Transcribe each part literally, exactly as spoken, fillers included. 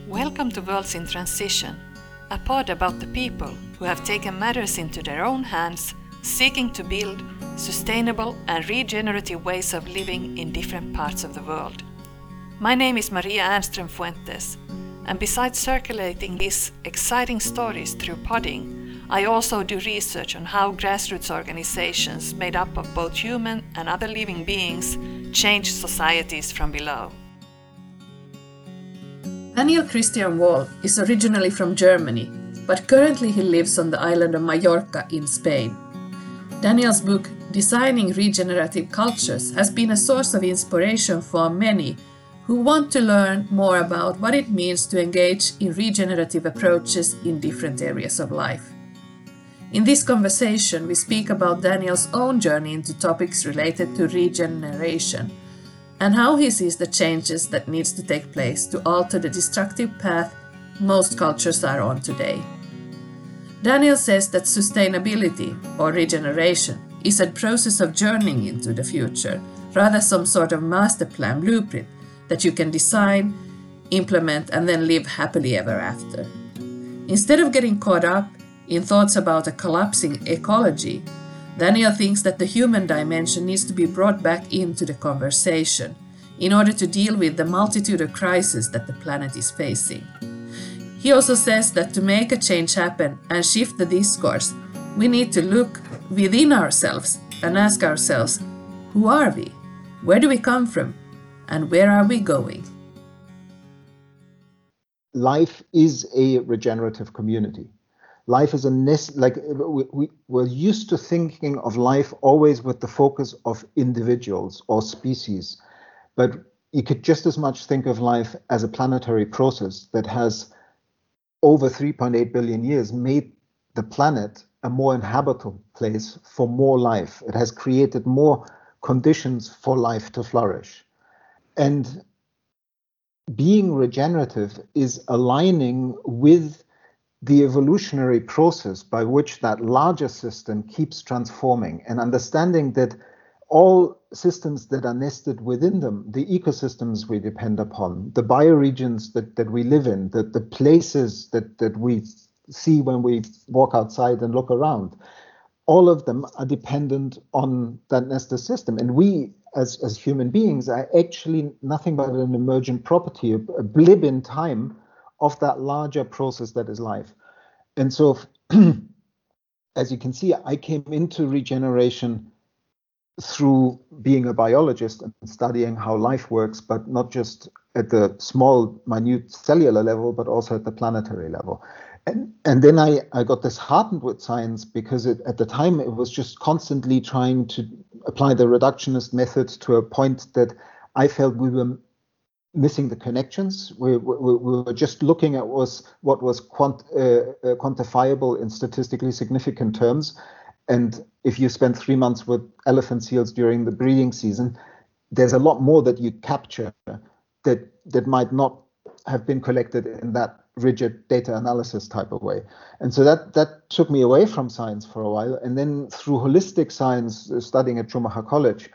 Welcome to Worlds in Transition, a pod about the people who have taken matters into their own hands, seeking to build sustainable and regenerative ways of living in different parts of the world. My name is Maria Ernström Fuentes, and besides circulating these exciting stories through podding, I also do research on how grassroots organizations made up of both human and other living beings change societies from below. Daniel Christian Wall is originally from Germany, but currently he lives on the island of Mallorca in Spain. Daniel's book, Designing Regenerative Cultures, has been a source of inspiration for many who want to learn more about what it means to engage in regenerative approaches in different areas of life. In this conversation, we speak about Daniel's own journey into topics related to regeneration, and how he sees the changes that needs to take place to alter the destructive path most cultures are on today. Daniel says that sustainability, or regeneration, is a process of journeying into the future, rather some sort of master plan blueprint that you can design, implement, and then live happily ever after. Instead of getting caught up in thoughts about a collapsing ecology, Daniel thinks that the human dimension needs to be brought back into the conversation in order to deal with the multitude of crises that the planet is facing. He also says that to make a change happen and shift the discourse, we need to look within ourselves and ask ourselves, who are we? Where do we come from? And where are we going? Life is a regenerative community. Life is a nest, like we, we, we're used to thinking of life always with the focus of individuals or species, but you could just as much think of life as a planetary process that has over three point eight billion years made the planet a more inhabitable place for more life. It has created more conditions for life to flourish. And being regenerative is aligning with the evolutionary process by which that larger system keeps transforming, and understanding that all systems that are nested within them, the ecosystems we depend upon, the bioregions that, that we live in, the, the places that, that we see when we walk outside and look around, all of them are dependent on that nested system. And we, as, as human beings, are actually nothing but an emergent property, a, a blip in time of that larger process that is life. And so, as you can see, I came into regeneration through being a biologist and studying how life works, but not just at the small, minute cellular level, but also at the planetary level. And, and then I, I got disheartened with science because it, at the time it was just constantly trying to apply the reductionist method to a point that I felt we were missing the connections. We, we, we were just looking at was what was quant, uh, uh, quantifiable in statistically significant terms. And if you spend three months with elephant seals during the breeding season, there's a lot more that you capture that that might not have been collected in that rigid data analysis type of way. And so that that took me away from science for a while. And then through holistic science, uh, studying at Schumacher College,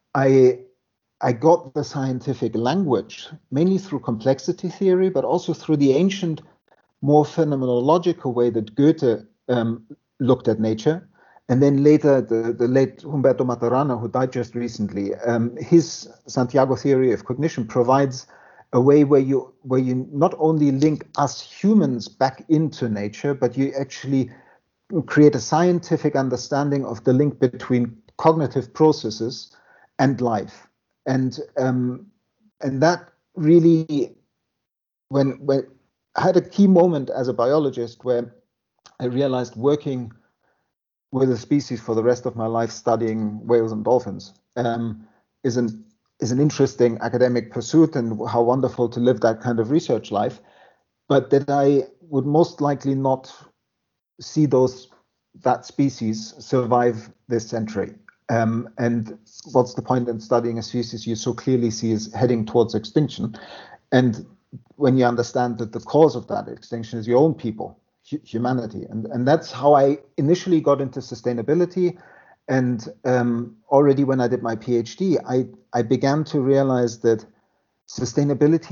I I got the scientific language, mainly through complexity theory, but also through the ancient, more phenomenological way that Goethe um, looked at nature. And then later, the, the late Humberto Maturana, who died just recently, um, his Santiago theory of cognition provides a way where you where you not only link us humans back into nature, but you actually create a scientific understanding of the link between cognitive processes and life. And um, and that really, when when I had a key moment as a biologist where I realized working with a species for the rest of my life, studying whales and dolphins, um, is an is an interesting academic pursuit, and how wonderful to live that kind of research life. But that I would most likely not see those that species survive this century. Um, and what's the point in studying a species you so clearly see is heading towards extinction? And when you understand that the cause of that extinction is your own people, hu- humanity. And, and that's how I initially got into sustainability. And um, already when I did my PhD, I, I began to realize that sustainability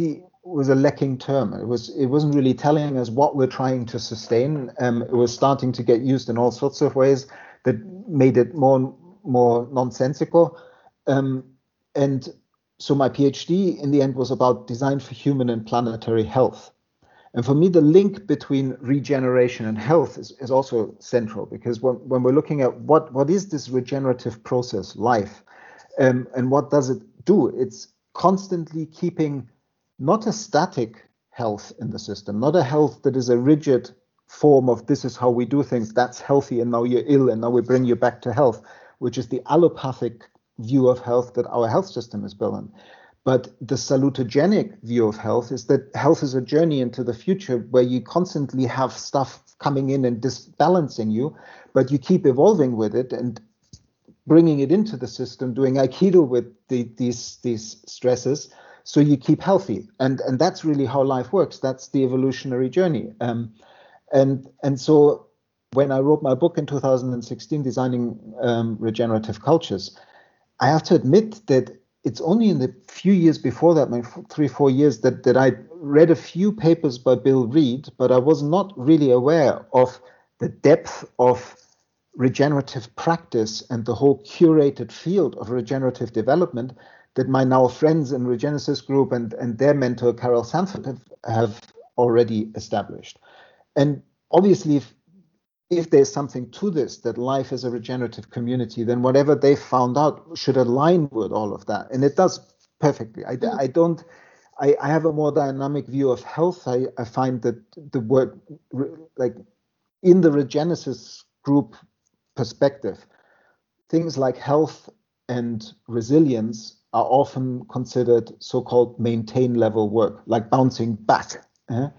was a lacking term. It was it wasn't really telling us what we're trying to sustain. Um, it was starting to get used in all sorts of ways that made it more more nonsensical. Um, and so my PhD in the end was about design for human and planetary health. And for me, the link between regeneration and health is, is also central, because when, when we're looking at what, what is this regenerative process, life, um, and what does it do? It's constantly keeping not a static health in the system, not a health that is a rigid form of this is how we do things, that's healthy, and now you're ill, and now we bring you back to health, which is the allopathic view of health that our health system is built on. But the salutogenic view of health is that health is a journey into the future where you constantly have stuff coming in and disbalancing you, but you keep evolving with it and bringing it into the system, doing Aikido with the, these these stresses, so you keep healthy. And and that's really how life works. That's the evolutionary journey. Um, and and so when I wrote my book in two thousand sixteen, Designing um, Regenerative Cultures, I have to admit that it's only in the few years before that, maybe three, four years, that, that I read a few papers by Bill Reed, but I was not really aware of the depth of regenerative practice and the whole curated field of regenerative development that my now friends in Regenesis Group and, and their mentor, Carol Sanford, have, have already established. And obviously, if if there's something to this, that life is a regenerative community, then whatever they found out should align with all of that. And it does perfectly. I, I don't, I, I have a more dynamic view of health. I, I find that the word, like in the Regenesis Group perspective, things like health and resilience are often considered so-called maintain level work, like bouncing back. Eh?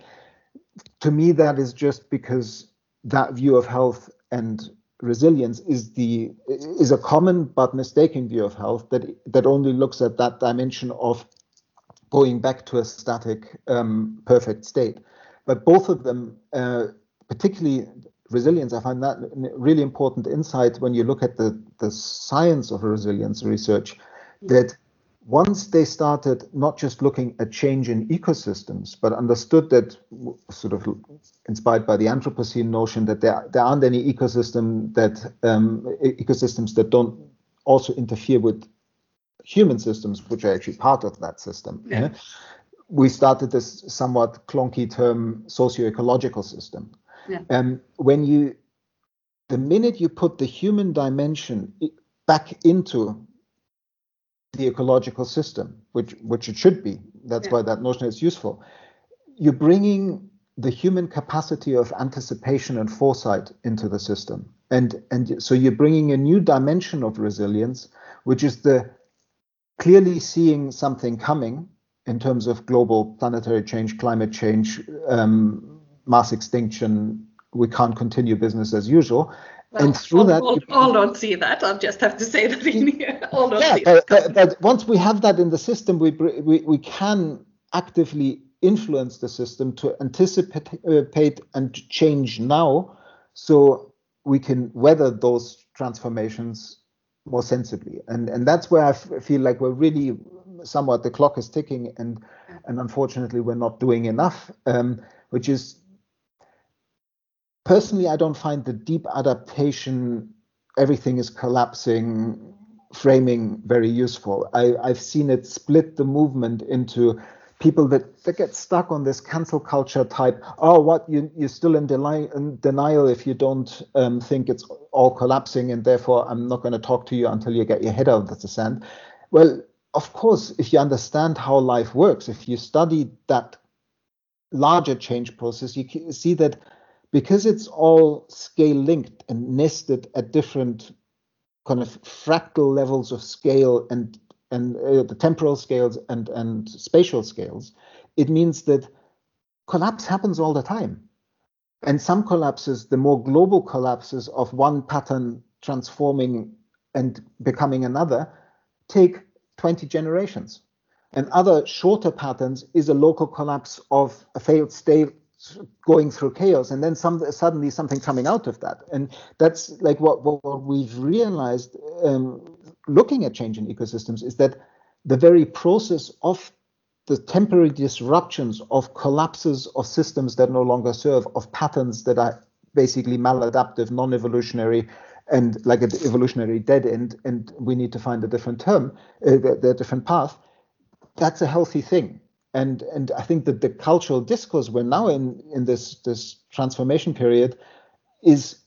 To me, that is just because that view of health and resilience is the is a common but mistaken view of health that that only looks at that dimension of going back to a static, um, perfect state. But both of them, uh, particularly resilience, I find that really important insight when you look at the the science of resilience research, that once they started not just looking at change in ecosystems, but understood that, sort of inspired by the Anthropocene notion, that there, there aren't any ecosystem that um, ecosystems that don't also interfere with human systems, which are actually part of that system. Yeah. Eh? We started this somewhat clunky term, socio-ecological system. Yeah. Um, when you, the minute you put the human dimension back into the ecological system, which which it should be. That's yeah. why that notion is useful. You're bringing the human capacity of anticipation and foresight into the system, and and so you're bringing a new dimension of resilience, which is the clearly seeing something coming in terms of global planetary change, climate change, um, mass extinction. We can't continue business as usual. Well, and through all, that, all, all don't see that. I'll just have to say that in here. All don't yeah, see but, that. but, but once we have that in the system, we we, we can actively influence the system to anticipate and change now, so we can weather those transformations more sensibly. And and that's where I f- feel like we're really somewhat, the clock is ticking, and and unfortunately we're not doing enough, um, which is. Personally, I don't find the deep adaptation, everything is collapsing, framing very useful. I, I've seen it split the movement into people that, that get stuck on this cancel culture type. Oh, what, you, you're still in, deli- in denial if you don't um, think it's all collapsing, and therefore I'm not going to talk to you until you get your head out of the sand. Well, of course, if you understand how life works, if you study that larger change process, you can see that because it's all scale linked and nested at different kind of fractal levels of scale and and uh, the temporal scales and and spatial scales, it means that collapse happens all the time. And some collapses, the more global collapses of one pattern transforming and becoming another, take twenty generations. And other shorter patterns is a local collapse of a failed state going through chaos, and then some suddenly something coming out of that. And that's like what, what, what we've realized um, looking at change in ecosystems, is that the very process of the temporary disruptions of collapses of systems that no longer serve, of patterns that are basically maladaptive, non-evolutionary, and like an evolutionary dead end, and we need to find a different term, uh, the, the different path, that's a healthy thing. And and I think that the cultural discourse we're now in, in this, this transformation period is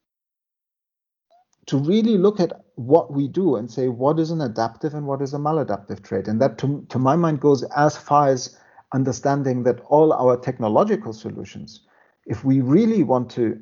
to really look at what we do and say what is an adaptive and what is a maladaptive trait. And that, to, to my mind, goes as far as understanding that all our technological solutions, if we really want to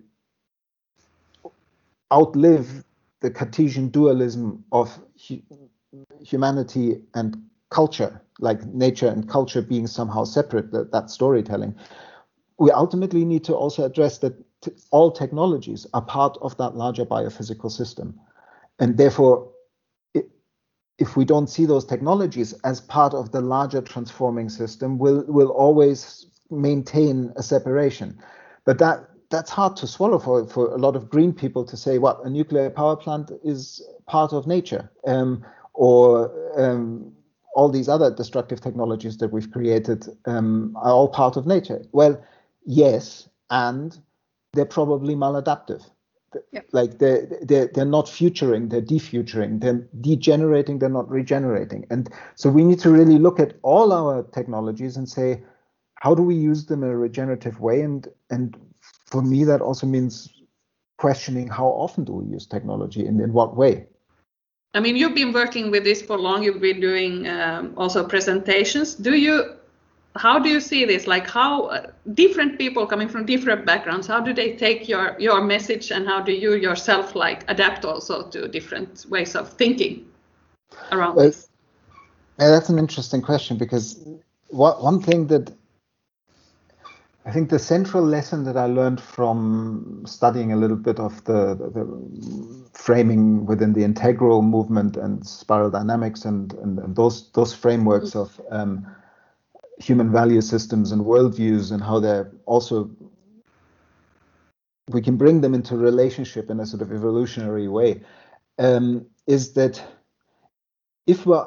outlive the Cartesian dualism of hu- humanity and culture, like nature and culture being somehow separate, that, that storytelling, we ultimately need to also address that t- all technologies are part of that larger biophysical system. And therefore, it, if we don't see those technologies as part of the larger transforming system, we'll, we'll always maintain a separation. But that that's hard to swallow for, for a lot of green people to say, what, a nuclear power plant is part of nature, um, or um, all these other destructive technologies that we've created um, are all part of nature. Well, yes, and they're probably maladaptive. Yep. Like they're, they're, they're not futuring, they're defuturing, they're degenerating, they're not regenerating. And so we need to really look at all our technologies and say, how do we use them in a regenerative way? And, and for me, that also means questioning how often do we use technology and in what way. I mean, you've been working with this for long, you've been doing um, also presentations. Do you, how do you see this? Like how uh, different people coming from different backgrounds, how do they take your, your message, and how do you yourself like adapt also to different ways of thinking around well, this? Yeah, that's an interesting question, because what, one thing that I think the central lesson that I learned from studying a little bit of the, the, the framing within the integral movement and spiral dynamics and, and, and those those frameworks of um, human value systems and worldviews, and how they're also, we can bring them into relationship in a sort of evolutionary way, um, is that if we're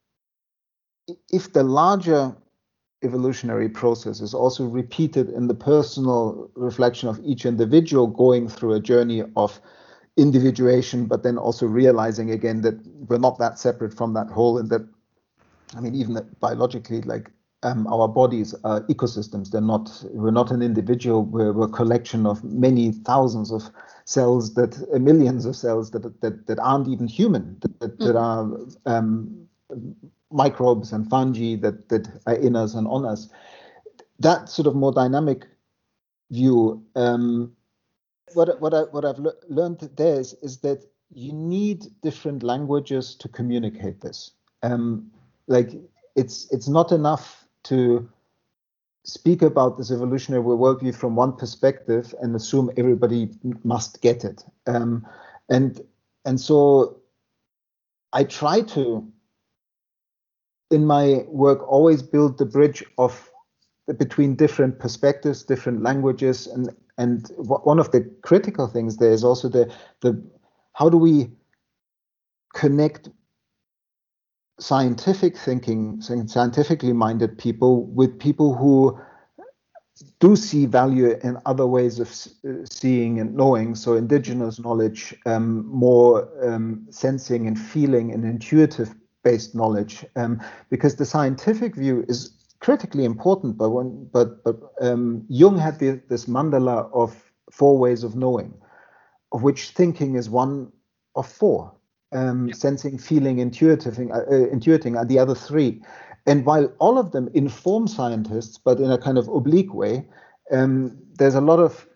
if the larger evolutionary process is also repeated in the personal reflection of each individual going through a journey of individuation, but then also realizing again that we're not that separate from that whole, and that, I mean, even that biologically, like um, our bodies are ecosystems. They're not, we're not an individual, we're, we're a collection of many thousands of cells, that uh, millions of cells that, that, that aren't even human, that, that, that are um, microbes and fungi that, that are in us and on us. That sort of more dynamic view, um, what, what, I, what I've le- learned there is, is that you need different languages to communicate this. Um, like it's, it's not enough to speak about this evolutionary worldview from one perspective and assume everybody must get it. Um, and, and so I try to, in my work, always build the bridge of between different perspectives, different languages, and and one of the critical things there is also the the how do we connect scientific thinking, scientifically minded people with people who do see value in other ways of seeing and knowing. So indigenous knowledge, um, more um, sensing and feeling and intuitive based knowledge, um, because the scientific view is critically important. But when, but but um, Jung had the, this mandala of four ways of knowing, of which thinking is one of four. Um, yeah. Sensing, feeling, intuitive, uh, intuiting are the other three. And while all of them inform scientists, but in a kind of oblique way, um, there's a lot of,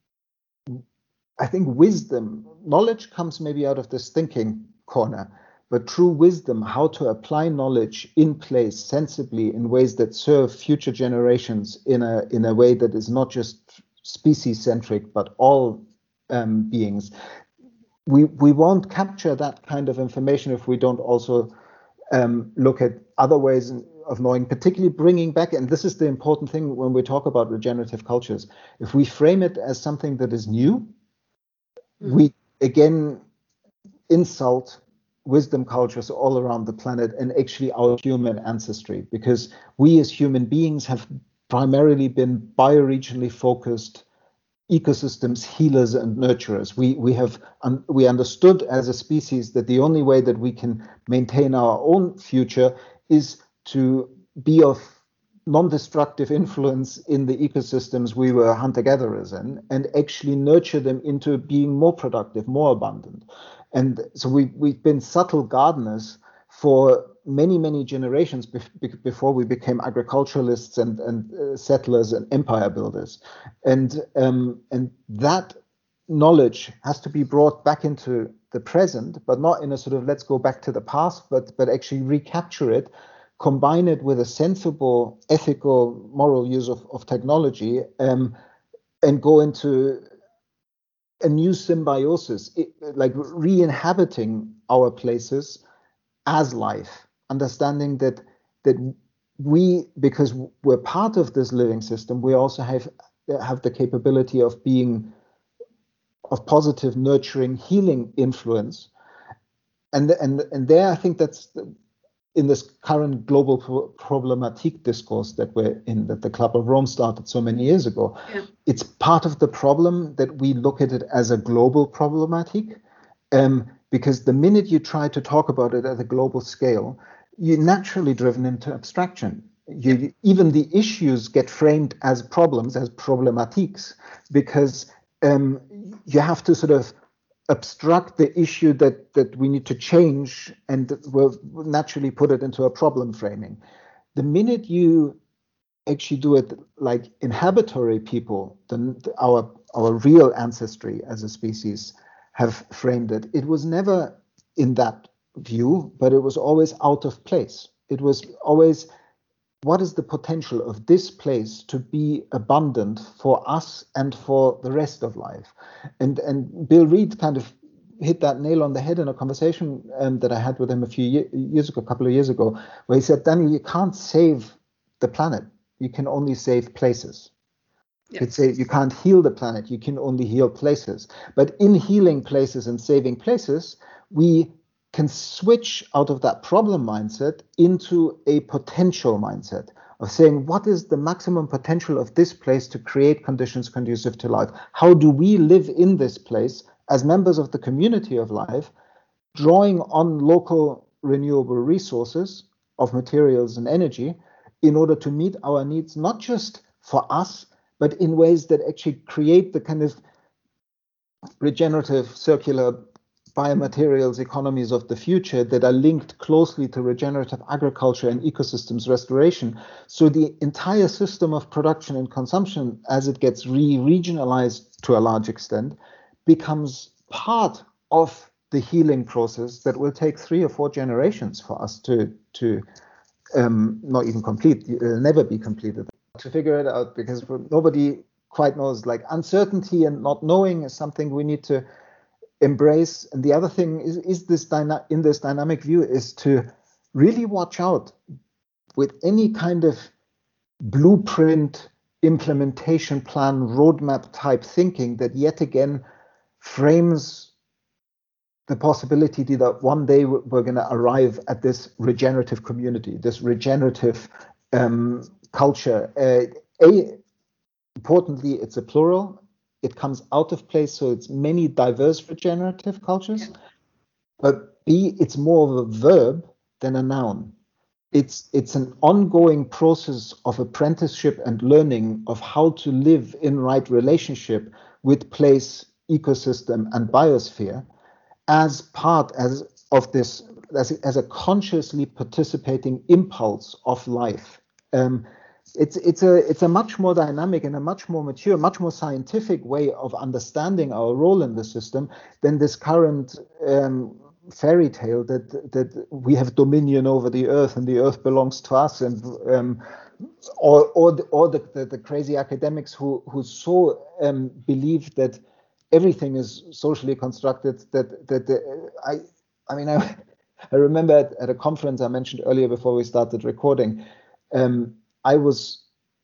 I think, wisdom. Knowledge comes maybe out of this thinking corner, but true wisdom, how to apply knowledge in place sensibly in ways that serve future generations in a in a way that is not just species-centric, but all um, beings. We we won't capture that kind of information if we don't also um, look at other ways of knowing, particularly bringing back, and this is the important thing when we talk about regenerative cultures, if we frame it as something that is new, mm. we again insult wisdom cultures all around the planet and actually our human ancestry, because we as human beings have primarily been bioregionally focused ecosystems healers and nurturers. We we have um, we understood as a species that the only way that we can maintain our own future is to be of non-destructive influence in the ecosystems we were hunter-gatherers in, and actually nurture them into being more productive, more abundant. And so we we've been subtle gardeners for many, many generations be- before we became agriculturalists and, and uh, settlers and empire builders. And, um, and that knowledge has to be brought back into the present, but not in a sort of let's go back to the past, but, but actually recapture it, combine it with a sensible, ethical, moral use of, of technology, um, and go into a new symbiosis, it, like re-inhabiting our places as life, understanding that that we, because we're part of this living system, we also have have the capability of being of positive, nurturing, healing influence, and and and there I think that's in this current global pro- problematic discourse that we're in, that the Club of Rome started so many years ago. Yeah. It's part of the problem that we look at it as a global problematic. Um, because the minute you try to talk about it at a global scale, you're naturally driven into abstraction. You, even the issues get framed as problems, as problematiques, because um, you have to sort of abstract the issue that, that we need to change, and we'll naturally put it into a problem framing. The minute you actually do it like inhabitory people, the, our, our real ancestry as a species, have framed it. It was never in that view, but it was always out of place. It was always, what is the potential of this place to be abundant for us and for the rest of life? And and Bill Reed kind of hit that nail on the head in a conversation um, that I had with him a few year, years ago, a couple of years ago, where he said, Daniel, you can't save the planet. You can only save places. Yeah. It's a, you can't heal the planet, you can only heal places. But in healing places and saving places, we can switch out of that problem mindset into a potential mindset of saying, what is the maximum potential of this place to create conditions conducive to life? How do we live in this place as members of the community of life, drawing on local renewable resources of materials and energy in order to meet our needs, not just for us, but in ways that actually create the kind of regenerative circular biomaterials economies of the future that are linked closely to regenerative agriculture and ecosystems restoration. So the entire system of production and consumption, as it gets re-regionalized to a large extent, becomes part of the healing process that will take three or four generations for us to, to um, not even complete, it'll never be completed, to figure it out, because nobody quite knows. Like, uncertainty and not knowing is something we need to embrace. And the other thing is, is this dyna- in this dynamic view is to really watch out with any kind of blueprint, implementation plan, roadmap type thinking that yet again frames the possibility that one day we're going to arrive at this regenerative community, this regenerative um, culture. Uh, a, importantly, it's a plural. It comes out of place, so it's many diverse regenerative cultures. But B, it's more of a verb than a noun. It's it's an ongoing process of apprenticeship and learning of how to live in right relationship with place, ecosystem, and biosphere as part as of this, as, as a consciously participating impulse of life. Um, it's it's a it's a much more dynamic and a much more mature, much more scientific way of understanding our role in the system than this current um, fairy tale that that we have dominion over the earth and the earth belongs to us, and um, or or the, or the, the, the crazy academics who who so um, believe that everything is socially constructed. That that the, I I mean I I remember at, at a conference I mentioned earlier before we started recording, um, I was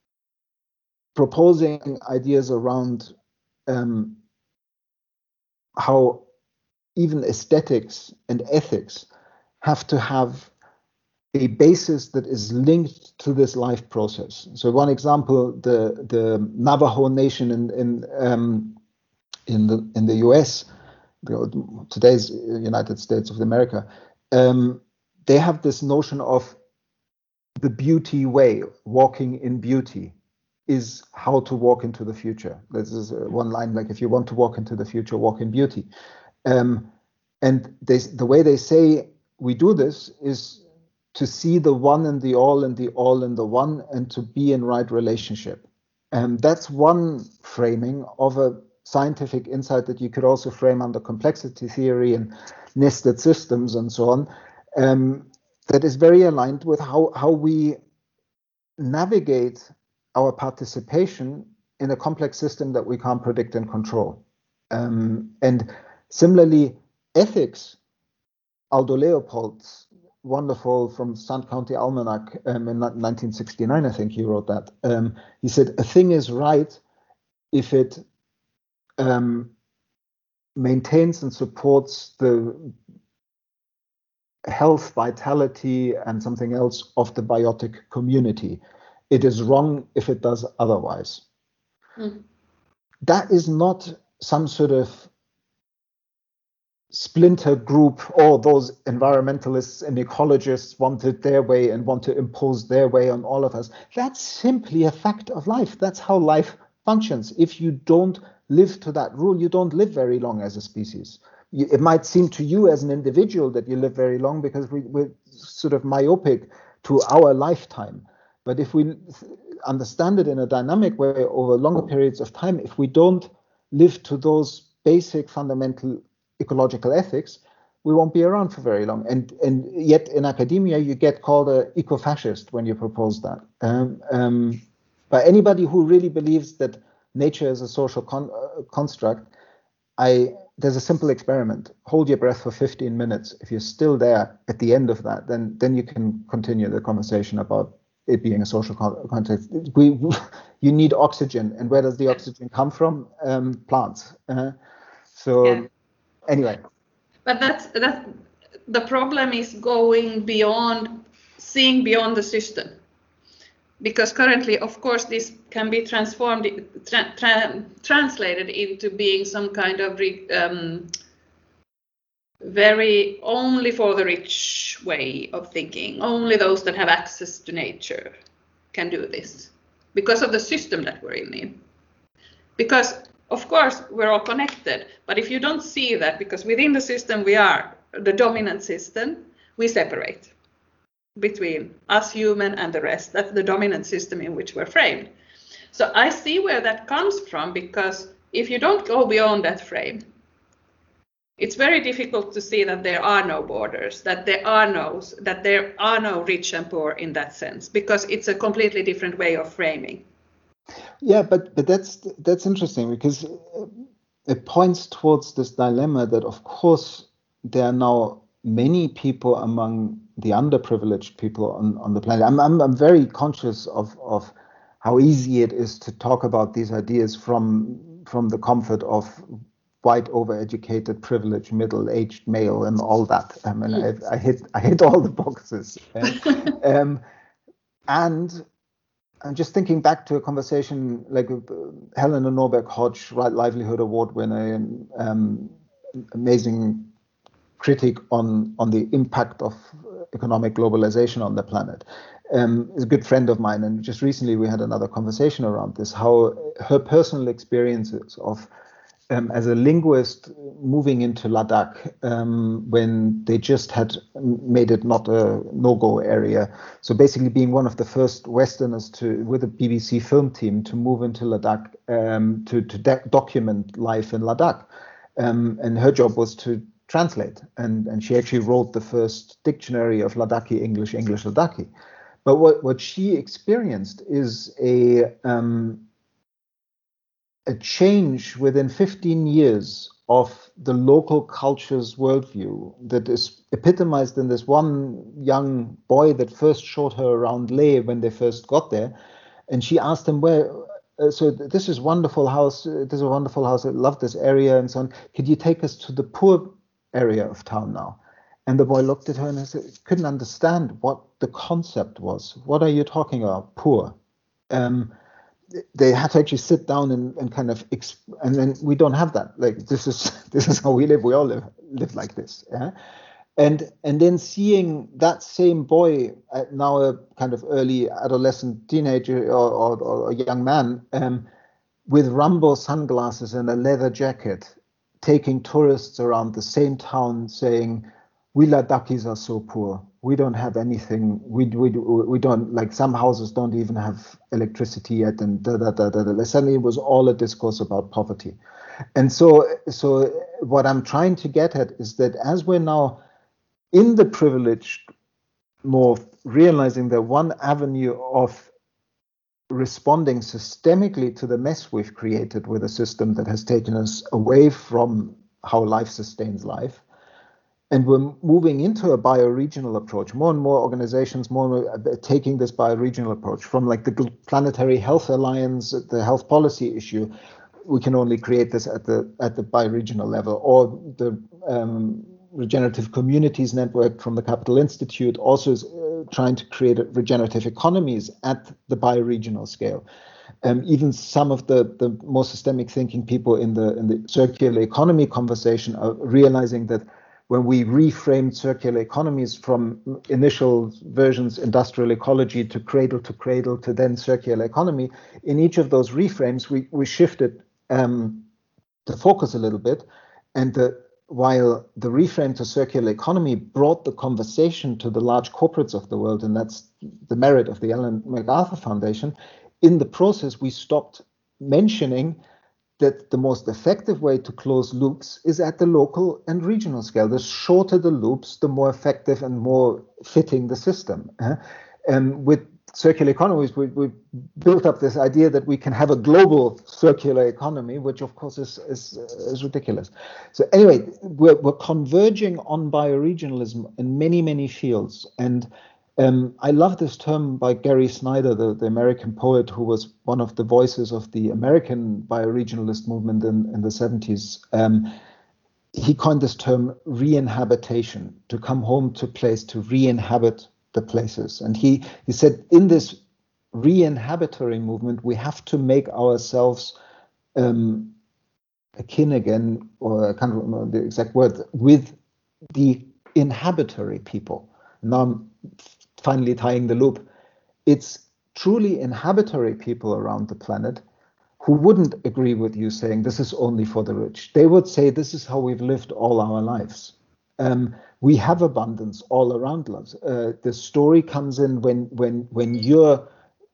proposing ideas around um, how even aesthetics and ethics have to have a basis that is linked to this life process. So one example, the the Navajo Nation in in um, in the in the U S, today's United States of America, um, they have this notion of the beauty way, walking in beauty is how to walk into the future. This is one line, like, if you want to walk into the future, walk in beauty. Um, and they, the way they say we do this is to see the one and the all and the all and the one, and to be in right relationship. And that's one framing of a scientific insight that you could also frame under complexity theory and nested systems and so on, um, that is very aligned with how, how we navigate our participation in a complex system that we can't predict and control. Um, and similarly, ethics, Aldo Leopold's wonderful from Sand County Almanac um, in nineteen sixty-nine, I think he wrote that. Um, he said, a thing is right if it um, maintains and supports the health, vitality, and something else of the biotic community. It is wrong if it does otherwise. Mm. That is not some sort of splinter group, or those environmentalists and ecologists want it their way and want to impose their way on all of us. That's simply a fact of life. That's how life functions. If you don't live to that rule, you don't live very long as a species. You, it might seem to you as an individual that you live very long because we, we're sort of myopic to our lifetime. But if we understand it in a dynamic way over longer periods of time, if we don't live to those basic fundamental ecological ethics, we won't be around for very long. And and yet in academia, you get called an eco-fascist when you propose that. Um, um, but anybody who really believes that nature is a social con- uh, construct, I there's a simple experiment. Hold your breath for fifteen minutes. If you're still there at the end of that, then then you can continue the conversation about it being a social con- context. We, you need oxygen, and where does the oxygen come from? Um, plants. Uh, so. Yeah. Anyway, but that's that. The problem is going beyond, seeing beyond the system, because currently, of course, this can be transformed, tra- tra- translated into being some kind of re- um, very only for the rich way of thinking. Only those that have access to nature can do this, because of the system that we're in. Because of course, we're all connected, but if you don't see that, because within the system we are the dominant system, we separate between us human and the rest. That's the dominant system in which we're framed. So I see where that comes from, because if you don't go beyond that frame, it's very difficult to see that there are no borders, that there are no, that there are no rich and poor in that sense, because it's a completely different way of framing. Yeah, but but that's that's interesting, because it points towards this dilemma that, of course, there are now many people among the underprivileged people on, on the planet. I'm, I'm I'm very conscious of of how easy it is to talk about these ideas from from the comfort of white, overeducated, privileged, middle-aged male and all that. I mean, I, I hit I hit all the boxes, um, and. I'm just thinking back to a conversation like uh, Helena Norberg-Hodge, Right Livelihood Award winner, and um, amazing critic on, on the impact of economic globalization on the planet. Um, is a good friend of mine, and just recently we had another conversation around this, how her personal experiences of Um, as a linguist moving into Ladakh um, when they just had made it not a no-go area. So basically being one of the first Westerners to, with a B B C film team, to move into Ladakh um, to, to de- document life in Ladakh. Um, and her job was to translate. And, and she actually wrote the first dictionary of Ladakhi English, English Ladakhi. But what, what she experienced is a... Um, a change within fifteen years of the local culture's worldview that is epitomized in this one young boy that first showed her around Leh when they first got there. And she asked him, where, uh, so this is wonderful house, uh, this is a wonderful house, I love this area and so on. Could you take us to the poor area of town now? And the boy looked at her and said, couldn't understand what the concept was. What are you talking about? Poor. Um, they had to actually sit down and, and kind of, exp- and then we don't have that. Like, this is this is how we live. We all live live like this. Yeah? And and then seeing that same boy, uh, now a kind of early adolescent teenager or, or, or a young man, um, with Rambo sunglasses and a leather jacket, taking tourists around the same town saying, we Ladakis are so poor. We don't have anything. We, we, we don't, like, some houses don't even have electricity yet. And da, da, da, da, da. Suddenly it was all a discourse about poverty. And so, so what I'm trying to get at is that as we're now in the privileged more, realizing that one avenue of responding systemically to the mess we've created with a system that has taken us away from how life sustains life, and we're moving into a bioregional approach. More and more organizations, more and more taking this bioregional approach from like the Planetary Health Alliance, the health policy issue. We can only create this at the at the bioregional level, or the um, Regenerative Communities Network from the Capital Institute also is uh, trying to create regenerative economies at the bioregional scale. Um, even some of the, the more systemic thinking people in the in the circular economy conversation are realizing that when we reframed circular economies from initial versions, industrial ecology, to cradle to cradle, to then circular economy, in each of those reframes, we, we shifted um, the focus a little bit. And the, while the reframe to circular economy brought the conversation to the large corporates of the world, and that's the merit of the Ellen MacArthur Foundation, in the process, we stopped mentioning that the most effective way to close loops is at the local and regional scale. The shorter the loops, the more effective and more fitting the system. Uh, and with circular economies, we, we built up this idea that we can have a global circular economy, which of course is, is, is ridiculous. So anyway, we're, we're converging on bioregionalism in many, many fields. And Um, I love this term by Gary Snyder, the, the American poet who was one of the voices of the American bioregionalist movement in, in the seventies. Um, he coined this term re-inhabitation, to come home to place, to re-inhabit the places. And he, he said, in this re-inhabitory movement, we have to make ourselves um, akin again, or I can't remember the exact word, with the inhabitory people. Now I'm finally tying the loop. It's truly inhabitory people around the planet who wouldn't agree with you saying this is only for the rich. They would say this is how we've lived all our lives. Um, we have abundance all around us. Uh, the story comes in when when when your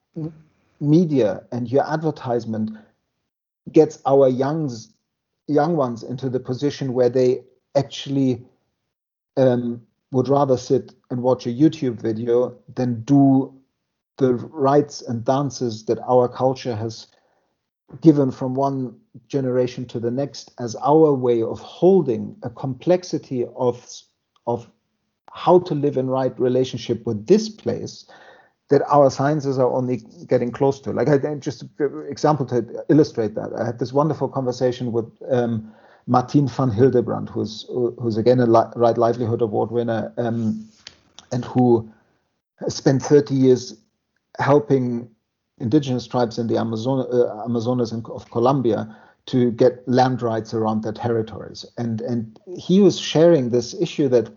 media and your advertisement gets our youngs, young ones into the position where they actually um, would rather sit and watch a YouTube video than do the rites and dances that our culture has given from one generation to the next as our way of holding a complexity of, of how to live in right relationship with this place that our sciences are only getting close to. Like, I just an example to illustrate that. I had this wonderful conversation with um, Martien van Hildebrand, who's who's again a li- Right Livelihood Award winner, um, and who has spent thirty years helping indigenous tribes in the Amazon, uh, Amazonas of Colombia to get land rights around their territories. And and he was sharing this issue that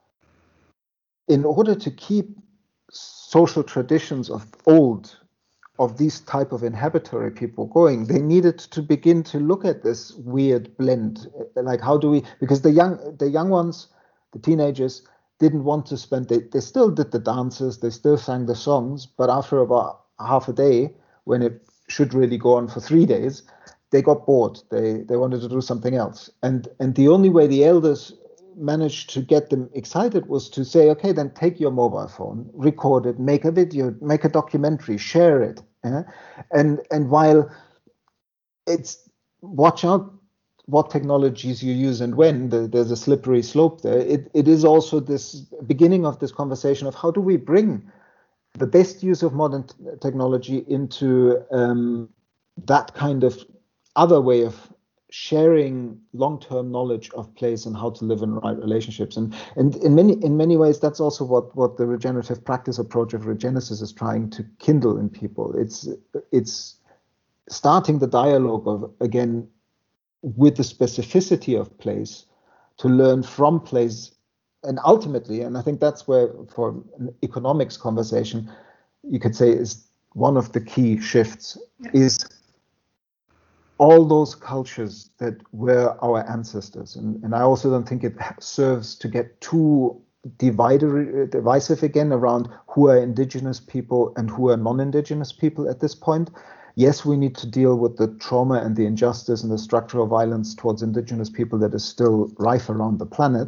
in order to keep social traditions of old, of these type of inhabitory people going, they needed to begin to look at this weird blend. Like, how do we, because the young the young ones, the teenagers, didn't want to spend, they, they still did the dances, they still sang the songs, but after about half a day, when it should really go on for three days, they got bored. They they wanted to do something else. And and the only way the elders managed to get them excited was to say, okay, then take your mobile phone, record it, make a video, make a documentary, share it. Yeah? And and while it's, watch out what technologies you use and when, the, there's a slippery slope there. It it is also this beginning of this conversation of how do we bring the best use of modern t- technology into um, that kind of other way of sharing long-term knowledge of place and how to live in right relationships. And and in many in many ways, that's also what what the regenerative practice approach of Regenesis is trying to kindle in people. It's it's starting the dialogue of, again, with the specificity of place, to learn from place, and ultimately, and I think that's where, for an economics conversation, you could say is one of the key shifts, yeah. is all those cultures that were our ancestors. And, and I also don't think it serves to get too divider, divisive again around who are indigenous people and who are non-indigenous people at this point. Yes, we need to deal with the trauma and the injustice and the structural violence towards indigenous people that is still rife around the planet.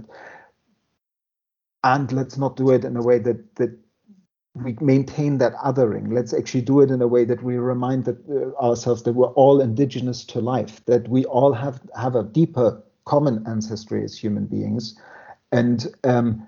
And let's not do it in a way that, that we maintain that othering. Let's actually do it in a way that we remind that, uh, ourselves that we're all indigenous to life, that we all have, have a deeper common ancestry as human beings. And um,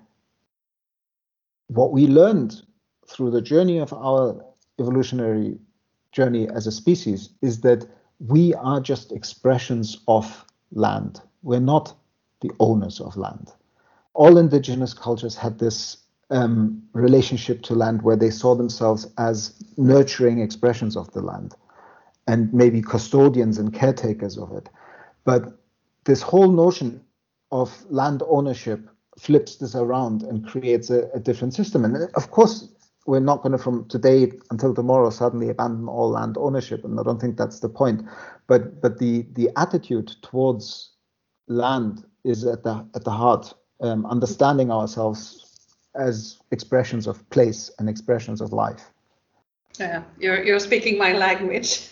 what we learned through the journey of our evolutionary journey as a species is that we are just expressions of land. We're not the owners of land. All indigenous cultures had this um, relationship to land where they saw themselves as nurturing expressions of the land and maybe custodians and caretakers of it. But this whole notion of land ownership flips this around and creates a, a different system. And of course, we're not going to, from today until tomorrow, suddenly abandon all land ownership, and I don't think that's the point. But but the the attitude towards land is at the at the heart. Um, understanding ourselves as expressions of place and expressions of life. Yeah, you're you're speaking my language.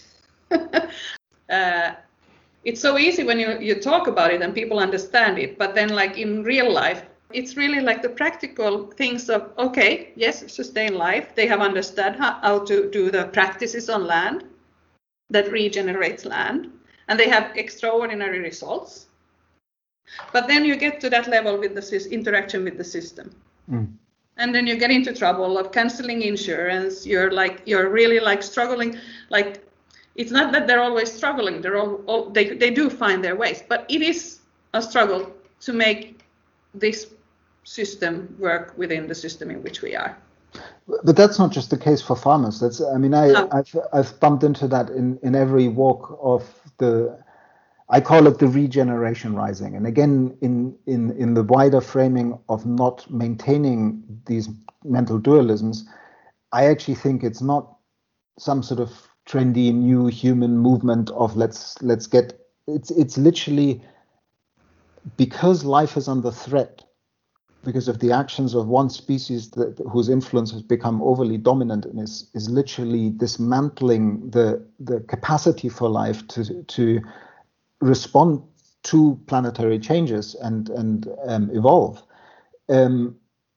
uh, it's so easy when you you talk about it and people understand it, but then like in real life, it's really like the practical things of, okay, yes, sustain life. They have understood how, how to do the practices on land that regenerates land, and they have extraordinary results. But then you get to that level with the interaction with the system. Mm. And then you get into trouble of canceling insurance. You're like, you're really like struggling. Like, it's not that they're always struggling. They're all, all they, they do find their ways, but it is a struggle to make this system work within the system in which we are. But that's not just the case for farmers. That's, I mean, I, no. I've, I've bumped into that in, in every walk of the, I call it the regeneration rising. And again, in, in, in the wider framing of not maintaining these mental dualisms, I actually think it's not some sort of trendy new human movement of let's let's get, it's it's literally because life is under threat, because of the actions of one species that, whose influence has become overly dominant and is, is literally dismantling the the capacity for life to to respond to planetary changes and and um, evolve. Um,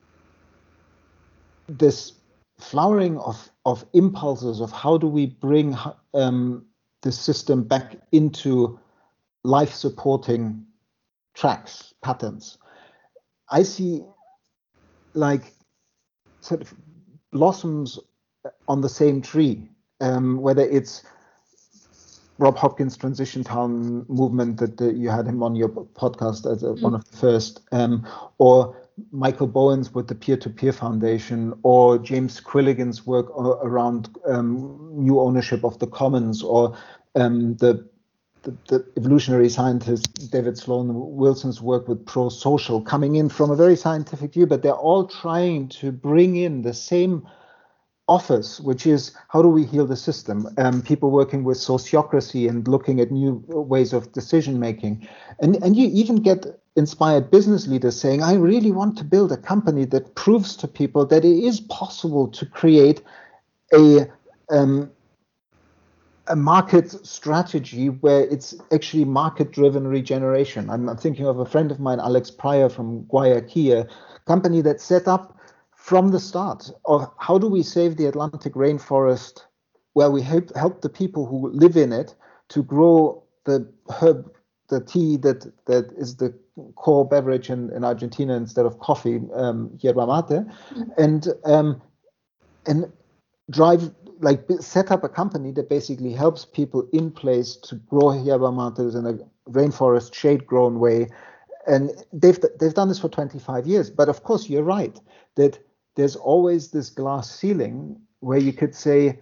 this flowering of of impulses of how do we bring um, the system back into life-supporting tracks, patterns. I see like sort of blossoms on the same tree, um, whether it's Rob Hopkins' Transition Town movement that uh, you had him on your podcast as a, mm. one of the first, um, or Michael Bowen's with the Peer-to-Peer Foundation, or James Quilligan's work around um, new ownership of the commons, or um, the, the, the evolutionary scientist David Sloan Wilson's work with pro-social, coming in from a very scientific view, but they're all trying to bring in the same office, which is how do we heal the system? Um, people working with sociocracy and looking at new ways of decision making. And, and you even get inspired business leaders saying, I really want to build a company that proves to people that it is possible to create a, um, a market strategy where it's actually market-driven regeneration. I'm, I'm thinking of a friend of mine, Alex Pryor from Guayaquil, a company that set up from the start of how do we save the Atlantic rainforest, where we help help the people who live in it to grow the herb, the tea that that is the core beverage in, in Argentina instead of coffee, um, yerba mate, mm-hmm. and um, and drive like set up a company that basically helps people in place to grow yerba mates in a rainforest shade-grown way. And they've they've done this for twenty-five years. But of course, you're right that there's always this glass ceiling where you could say,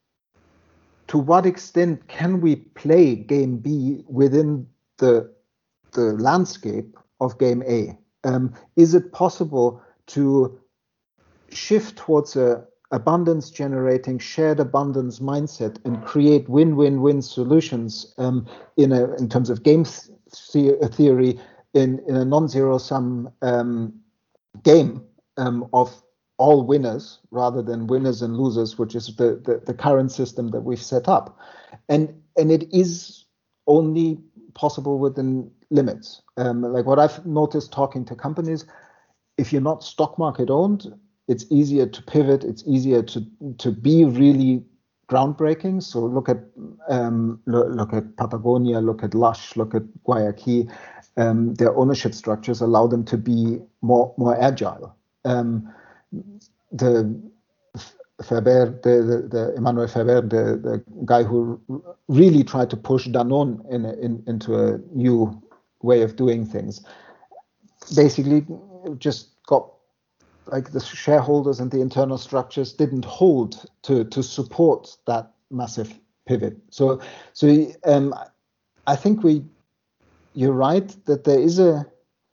to what extent can we play game B within the the landscape of game A? Um, is it possible to shift towards a abundance generating, shared abundance mindset and create win-win-win solutions um, in a in terms of game th- theory in, in a non-zero sum um, game um, of all winners rather than winners and losers, which is the, the, the current system that we've set up. And and it is only possible within limits. Um, like what I've noticed talking to companies, if you're not stock market owned, it's easier to pivot. It's easier to to be really groundbreaking. So look at um, look, look at Patagonia, look at Lush, look at Guayaquil. Um, their ownership structures allow them to be more more agile. Um, the Ferber, the, the, the Emmanuel Ferber, the, the guy who really tried to push Danone in, in into a new way of doing things, basically just got like the shareholders and the internal structures didn't hold to to support that massive pivot. So so um, I think we you're right that there is a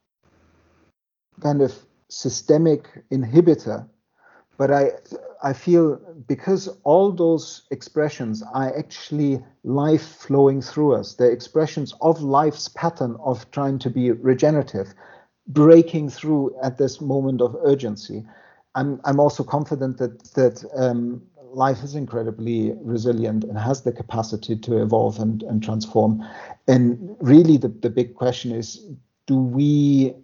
kind of systemic inhibitor, but I I feel because all those expressions are actually life flowing through us, they're expressions of life's pattern of trying to be regenerative, breaking through at this moment of urgency. I'm I'm also confident that that um, life is incredibly resilient and has the capacity to evolve and, and transform. And really the, the big question is, do we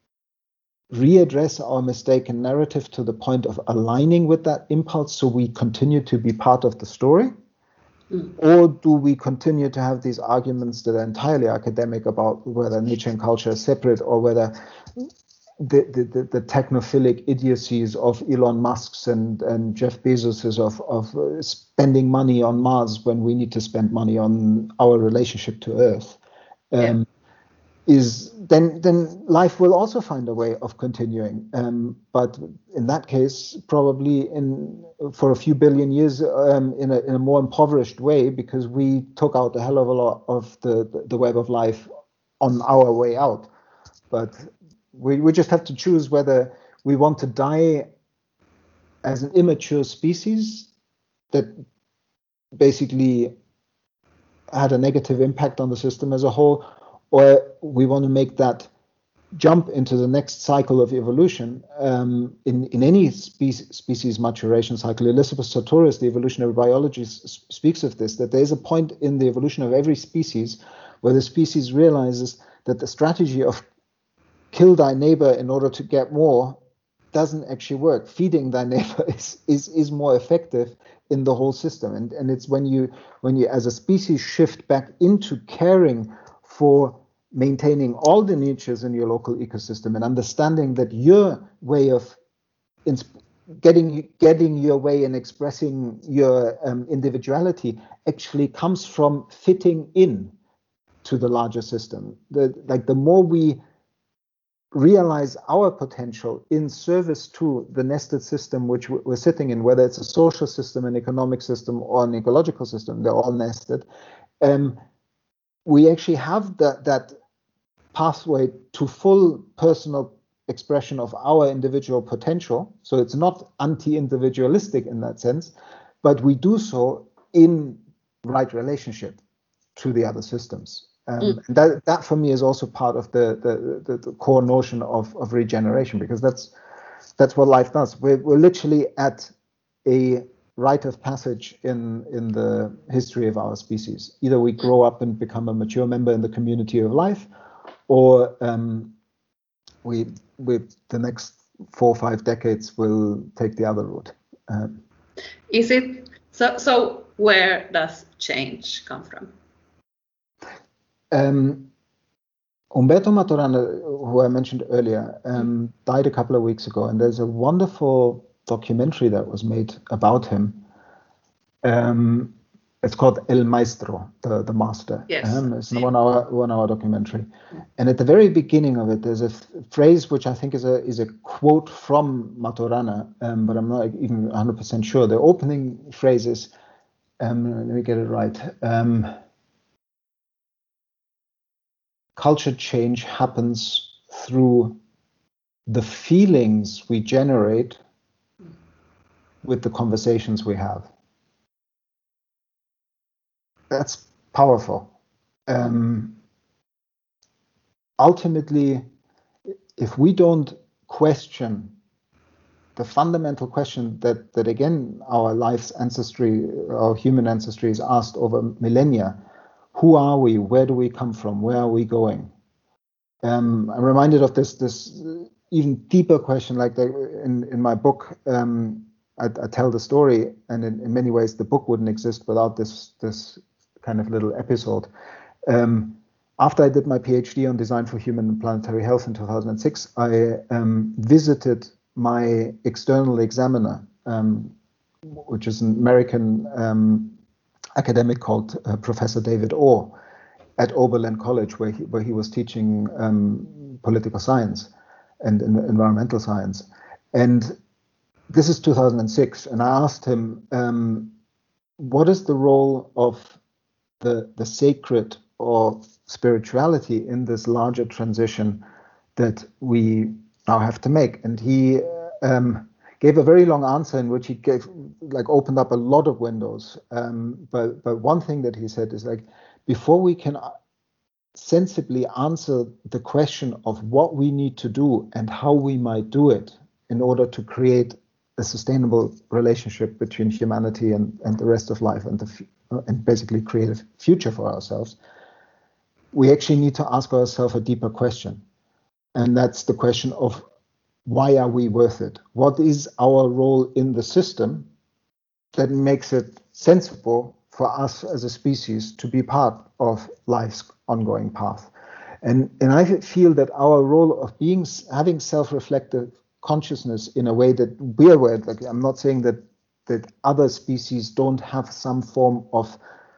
readdress our mistaken narrative to the point of aligning with that impulse so we continue to be part of the story? Mm. Or do we continue to have these arguments that are entirely academic about whether nature and culture are separate, or whether the, the, the, the technophilic idiocies of Elon Musk's and, and Jeff Bezos's of, of uh, spending money on Mars when we need to spend money on our relationship to Earth? Um, yeah. Is then then life will also find a way of continuing, um, but in that case, probably in for a few billion years um, in a in a more impoverished way, because we took out a hell of a lot of the the, the web of life on our way out. But we we just have to choose whether we want to die as an immature species that basically had a negative impact on the system as a whole, or we want to make that jump into the next cycle of evolution. Um, in, in any spe- species maturation cycle, Elizabeth Sartorius, the evolutionary biologist, s- speaks of this, that there is a point in the evolution of every species where the species realizes that the strategy of kill thy neighbor in order to get more doesn't actually work. Feeding thy neighbor is, is, is more effective in the whole system. And, and it's when you, when you as a species shift back into caring for maintaining all the niches in your local ecosystem and understanding that your way of ins- getting getting your way and expressing your um, individuality actually comes from fitting in to the larger system. The, like the more we realize our potential in service to the nested system which we're sitting in, whether it's a social system, an economic system, or an ecological system, they're all nested. Um, we actually have that that pathway to full personal expression of our individual potential. So it's not anti-individualistic in that sense, but we do so in right relationship to the other systems. Um, mm. and that, that for me is also part of the the, the, the core notion of, of regeneration, because that's that's what life does. We're, we're literally at a rite of passage in in the history of our species. Either we grow up and become a mature member in the community of life, or um, we with the next four or five decades will take the other route. Um, Is it so? So where does change come from? Um, Umberto Maturana, who I mentioned earlier, um, died a couple of weeks ago, and there's a wonderful documentary that was made about him. Um, It's called El Maestro, the, the master. Yes. Um, it's a one hour one hour documentary, and at the very beginning of it, there's a f- phrase which I think is a is a quote from Maturana, um, but I'm not even one hundred percent sure. The opening phrase is, um, let me get it right. Um, Culture change happens through the feelings we generate with the conversations we have. That's powerful. Um, ultimately, if we don't question the fundamental question that, that again, our life's ancestry, our human ancestry is asked over millennia, who are we? Where do we come from? Where are we going? Um, I'm reminded of this this even deeper question, like the, in, in my book, um, I, I tell the story, and in, in many ways the book wouldn't exist without this this kind of little episode. Um, after I did my PhD on design for human and planetary health in two thousand six, I um, visited my external examiner, um, which is an American um, academic called uh, Professor David Orr at Oberlin College, where he, where he was teaching um, political science and, and environmental science. And this is two thousand six, and I asked him, um, what is the role of the, the sacred or spirituality in this larger transition that we now have to make? And he um, gave a very long answer in which he gave, like, opened up a lot of windows. Um, but but one thing that he said is, like, before we can sensibly answer the question of what we need to do and how we might do it in order to create a sustainable relationship between humanity and, and the rest of life, and the and basically create a future for ourselves, we actually need to ask ourselves a deeper question. And that's the question of, why are we worth it? What is our role in the system that makes it sensible for us as a species to be part of life's ongoing path? And and I feel that our role of being having self-reflective consciousness in a way that we're aware, like, I'm not saying that that other species don't have some form of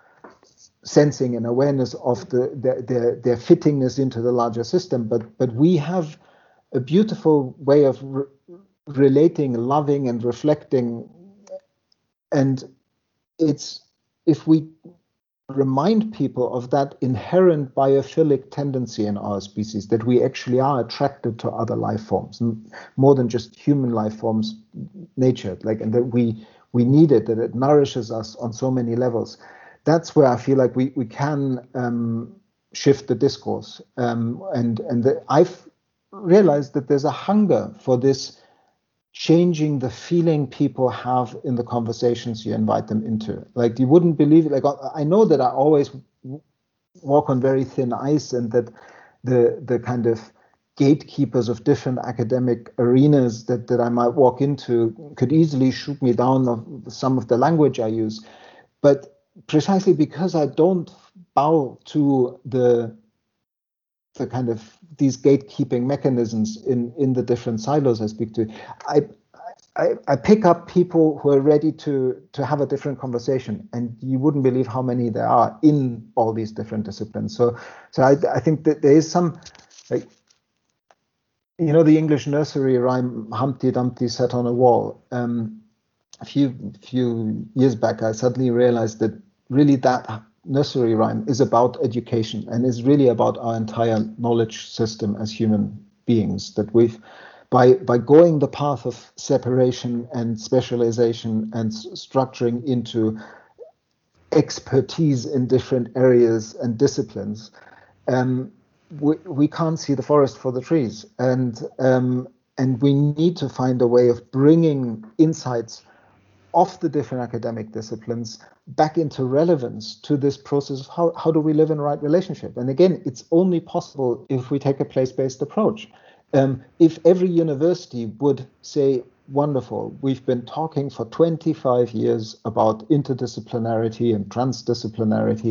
sensing and awareness of the their their, their fittingness into the larger system, but but we have a beautiful way of re- relating, loving, and reflecting. And it's, if we remind people of that inherent biophilic tendency in our species, that we actually are attracted to other life forms, more than just human life forms, nature, like, and that we we need it, that it nourishes us on so many levels. That's where I feel like we we can um, shift the discourse. Um, and and the, I've realized that there's a hunger for this, changing the feeling people have in the conversations you invite them into. Like, you wouldn't believe it. Like, I know that I always walk on very thin ice, and that the the kind of gatekeepers of different academic arenas that, that I might walk into could easily shoot me down of some of the language I use. But precisely because I don't bow to the the kind of these gatekeeping mechanisms in, in the different silos I speak to, I, I I pick up people who are ready to to have a different conversation, and you wouldn't believe how many there are in all these different disciplines. So so I I think that there is some, like, you know, the English nursery rhyme, Humpty Dumpty sat on a wall. Um, a few few years back, I suddenly realized that really that nursery rhyme is about education, and is really about our entire knowledge system as human beings, that we've by by going the path of separation and specialization and s- structuring into expertise in different areas and disciplines, um, we, we can't see the forest for the trees, and um, and we need to find a way of bringing insights of the different academic disciplines back into relevance to this process of how, how do we live in right relationship. And again, it's only possible if we take a place-based approach. Um, if every university would say, wonderful, we've been talking for twenty-five years about interdisciplinarity and transdisciplinarity,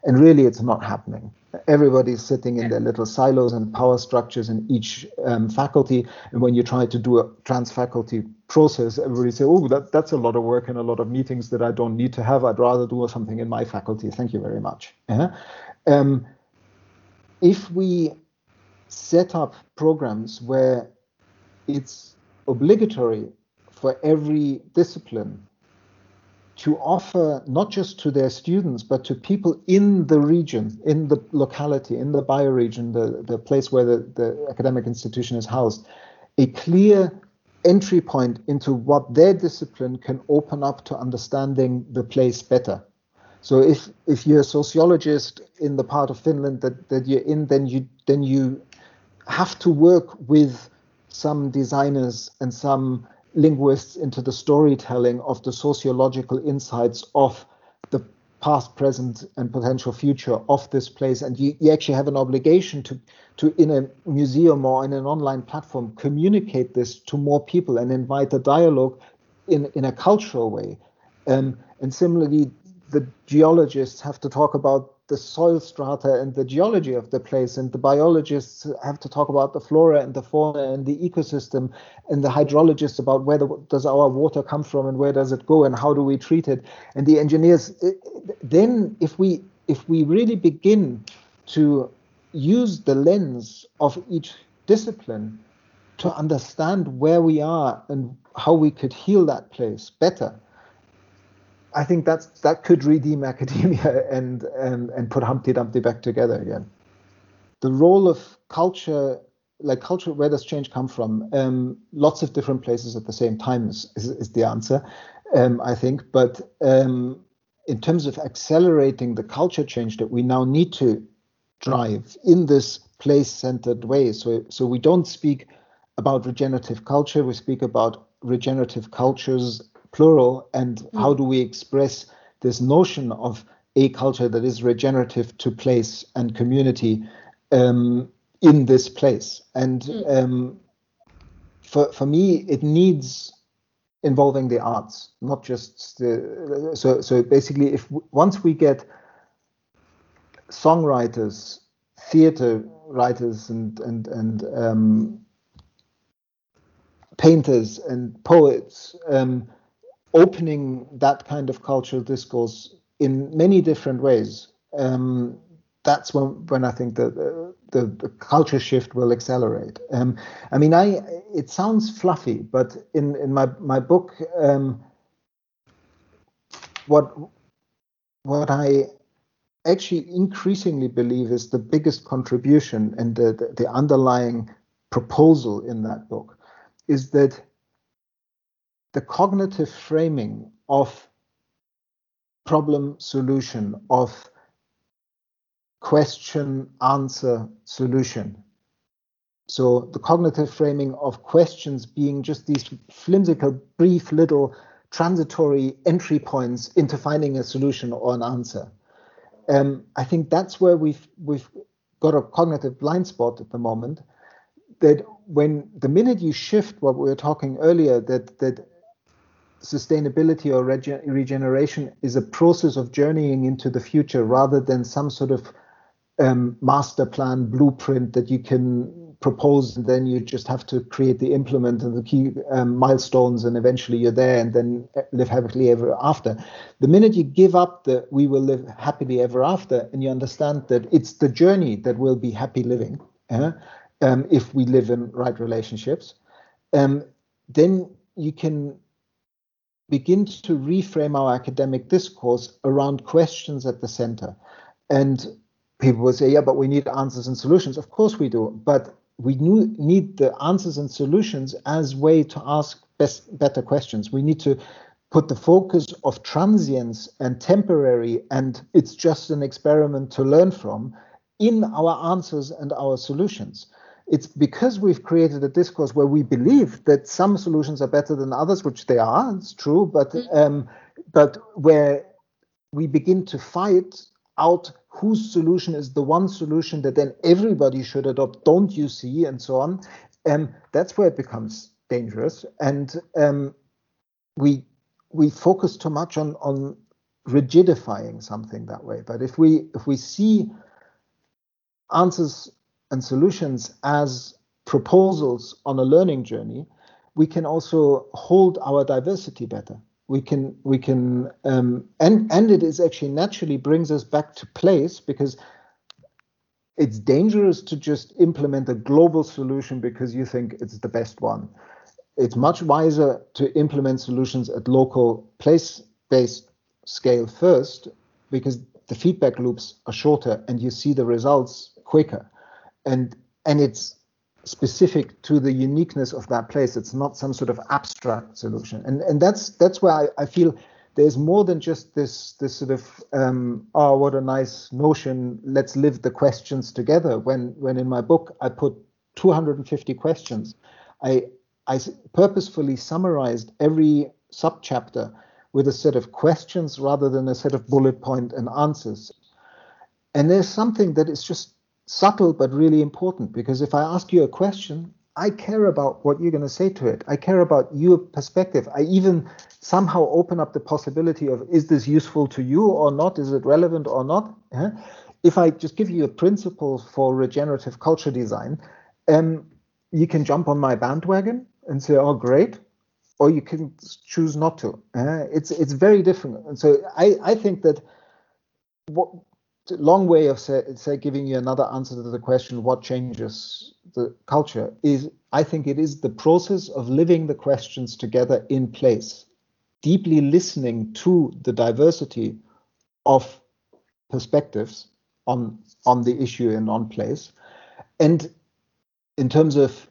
And really, it's not happening. Everybody's sitting in their little silos and power structures in each um, faculty. And when you try to do a trans-faculty process, everybody says, oh, that, that's a lot of work and a lot of meetings that I don't need to have. I'd rather do something in my faculty. Thank you very much. Uh-huh. Um, if we set up programs where it's obligatory for every discipline to offer not just to their students, but to people in the region, in the locality, in the bioregion, the, the place where the, the academic institution is housed, a clear entry point into what their discipline can open up to understanding the place better. So if, if you're a sociologist in the part of Finland that, that you're in, then you then you have to work with some designers and some linguists into the storytelling of the sociological insights of the past, present, and potential future of this place. And you, you actually have an obligation to, to, in a museum or in an online platform, communicate this to more people and invite a dialogue in, in a cultural way. Um, and similarly, the geologists have to talk about the soil strata and the geology of the place, and the biologists have to talk about the flora and the fauna and the ecosystem, and the hydrologists about where the, does our water come from and where does it go and how do we treat it, and the engineers. Then if we if we really begin to use the lens of each discipline to understand where we are and how we could heal that place better, I think that's that could redeem academia and and and put Humpty Dumpty back together again. The role of culture, like culture, where does change come from? Um, lots of different places at the same time is is, is the answer, um, I think. But um, in terms of accelerating the culture change that we now need to drive in this place-centered way, so so we don't speak about regenerative culture, we speak about regenerative cultures, plural, and mm. how do we express this notion of a culture that is regenerative to place and community um, in this place. And mm. um, for for me, it needs involving the arts, not just the, so so basically, if once we get songwriters, theater writers, and and and um, painters and poets um, opening that kind of cultural discourse in many different ways, um, that's when when I think that the, the, the culture shift will accelerate. Um, I mean, I it sounds fluffy, but in, in my my book, um, what what I actually increasingly believe is the biggest contribution and the, the, the underlying proposal in that book is that the cognitive framing of problem solution, of question answer solution. So the cognitive framing of questions being just these flimsical, brief little transitory entry points into finding a solution or an answer. Um, I think that's where we've we've got a cognitive blind spot at the moment. That when the minute you shift what we were talking earlier, that that sustainability or rege- regeneration is a process of journeying into the future rather than some sort of um, master plan blueprint that you can propose and then you just have to create the implement and the key um, milestones and eventually you're there and then live happily ever after. The minute you give up the we will live happily ever after and you understand that it's the journey that will be happy living, uh, um, if we live in right relationships, um, then you can begin to reframe our academic discourse around questions at the center. And people will say, yeah, but we need answers and solutions. Of course we do, but we need the answers and solutions as way to ask best, better questions. We need to put the focus of transience and temporary, and it's just an experiment to learn from, in our answers and our solutions. It's because we've created a discourse where we believe that some solutions are better than others, which they are, it's true, but um, but where we begin to fight out whose solution is the one solution that then everybody should adopt, don't you see, and so on. Um, that's where it becomes dangerous. And um, we we focus too much on, on rigidifying something that way. But if we if we see answers and solutions as proposals on a learning journey, we can also hold our diversity better. We can we can um, and and it is actually naturally brings us back to place, because it's dangerous to just implement a global solution because you think it's the best one. It's much wiser to implement solutions at local place-based scale first, because the feedback loops are shorter and you see the results quicker. And and it's specific to the uniqueness of that place. It's not some sort of abstract solution. And and that's that's where I, I feel there's more than just this this sort of um, oh, what a nice notion, let's live the questions together. When when in my book I put two hundred fifty questions, I I purposefully summarized every subchapter with a set of questions rather than a set of bullet point and answers. And there's something that is just subtle but really important, because if I ask you a question, I care about what you're going to say to it. I care about your perspective. I even somehow open up the possibility of, is this useful to you or not? Is it relevant or not? Yeah? If I just give you a principle for regenerative culture design, um, you can jump on my bandwagon and say, oh, great. Or you can choose not to. Uh, it's it's very different. And so I, I think that what long way of say, say giving you another answer to the question, what changes the culture, is I think it is the process of living the questions together in place, deeply listening to the diversity of perspectives on on the issue and on place. And in terms of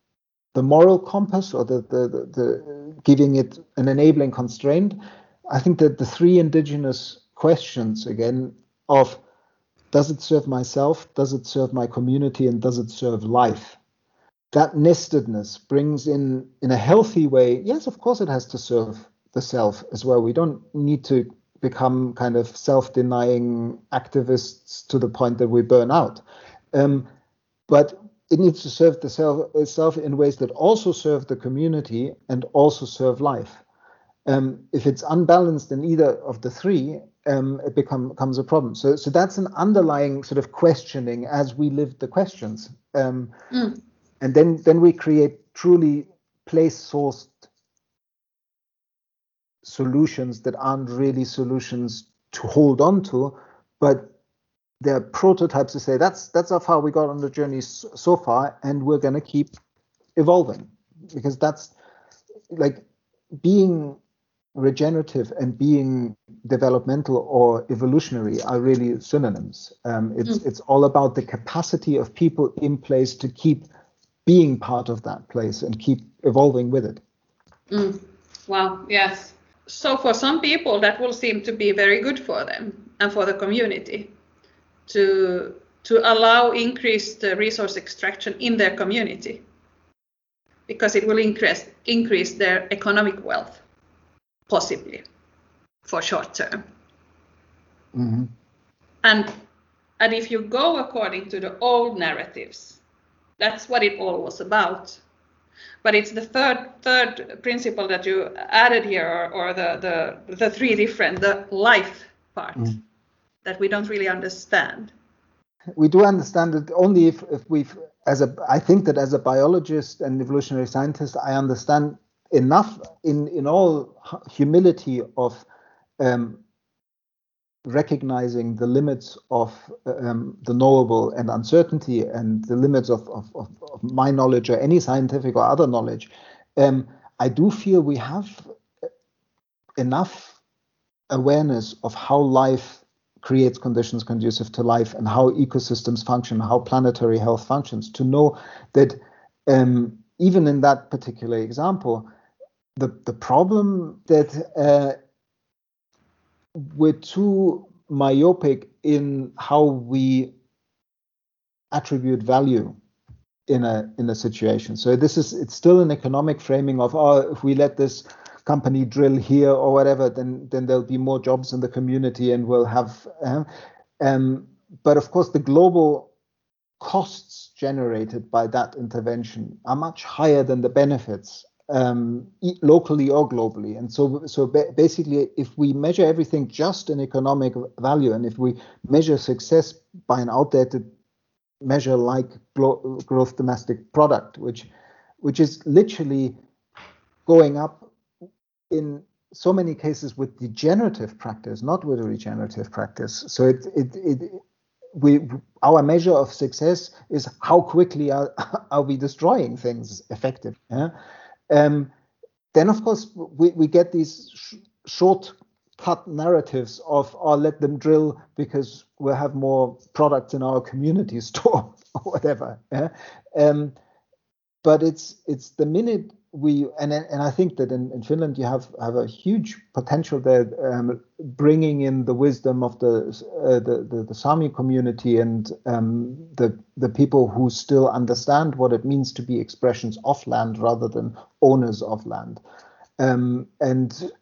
the moral compass, or the, the, the, the giving it an enabling constraint, I think that the three indigenous questions, again, of does it serve myself, does it serve my community, and does it serve life? That nestedness brings in, in a healthy way, yes, of course it has to serve the self as well. We don't need to become kind of self-denying activists to the point that we burn out. Um, but it needs to serve the self itself in ways that also serve the community and also serve life. Um, if it's unbalanced in either of the three, um, it become, becomes a problem. So, so that's an underlying sort of questioning as we live the questions. Um, mm. And then, then we create truly place-sourced solutions that aren't really solutions to hold on to, but they're prototypes to say that's that's how far we got on the journey so far, and we're going to keep evolving, because that's like being regenerative and being developmental or evolutionary are really synonyms. Um, it's mm. it's all about the capacity of people in place to keep being part of that place and keep evolving with it. Mm. Wow. Yes. So for some people that will seem to be very good for them and for the community, to to allow increased uh, resource extraction in their community, because it will increase increase their economic wealth, possibly for short term. Mm-hmm. And and if you go according to the old narratives, that's what it all was about. But it's the third third principle that you added here, or, or the, the the three different, the life part. Mm. That we don't really understand. We do understand it only if, if we've, as a, I think that as a biologist and evolutionary scientist, I understand enough in, in all humility of um, recognizing the limits of um, the knowable and uncertainty, and the limits of, of, of, of my knowledge or any scientific or other knowledge. Um, I do feel we have enough awareness of how life creates conditions conducive to life, and how ecosystems function, how planetary health functions, to know that um, even in that particular example, the, the problem that uh, we're too myopic in how we attribute value in a in a situation. So this is, it's still an economic framing of, oh, if we let this company drill here or whatever, then then there'll be more jobs in the community and we'll have uh, um but of course the global costs generated by that intervention are much higher than the benefits, um, locally or globally. And so, so ba- basically, if we measure everything just in economic value, and if we measure success by an outdated measure like glo- gross domestic product, which, which is literally going up in so many cases with degenerative practice, not with a regenerative practice. So it, it, it we our measure of success is how quickly are, are we destroying things effectively. Yeah? Um, then, of course, we, we get these sh- shortcut narratives of, oh, let them drill because we'll have more products in our community store or whatever. Yeah? Um, but it's it's the minute we, and and I think that in, in Finland you have, have a huge potential there, um, bringing in the wisdom of the uh, the, the the Sami community and um, the the people who still understand what it means to be expressions of land rather than owners of land, um, and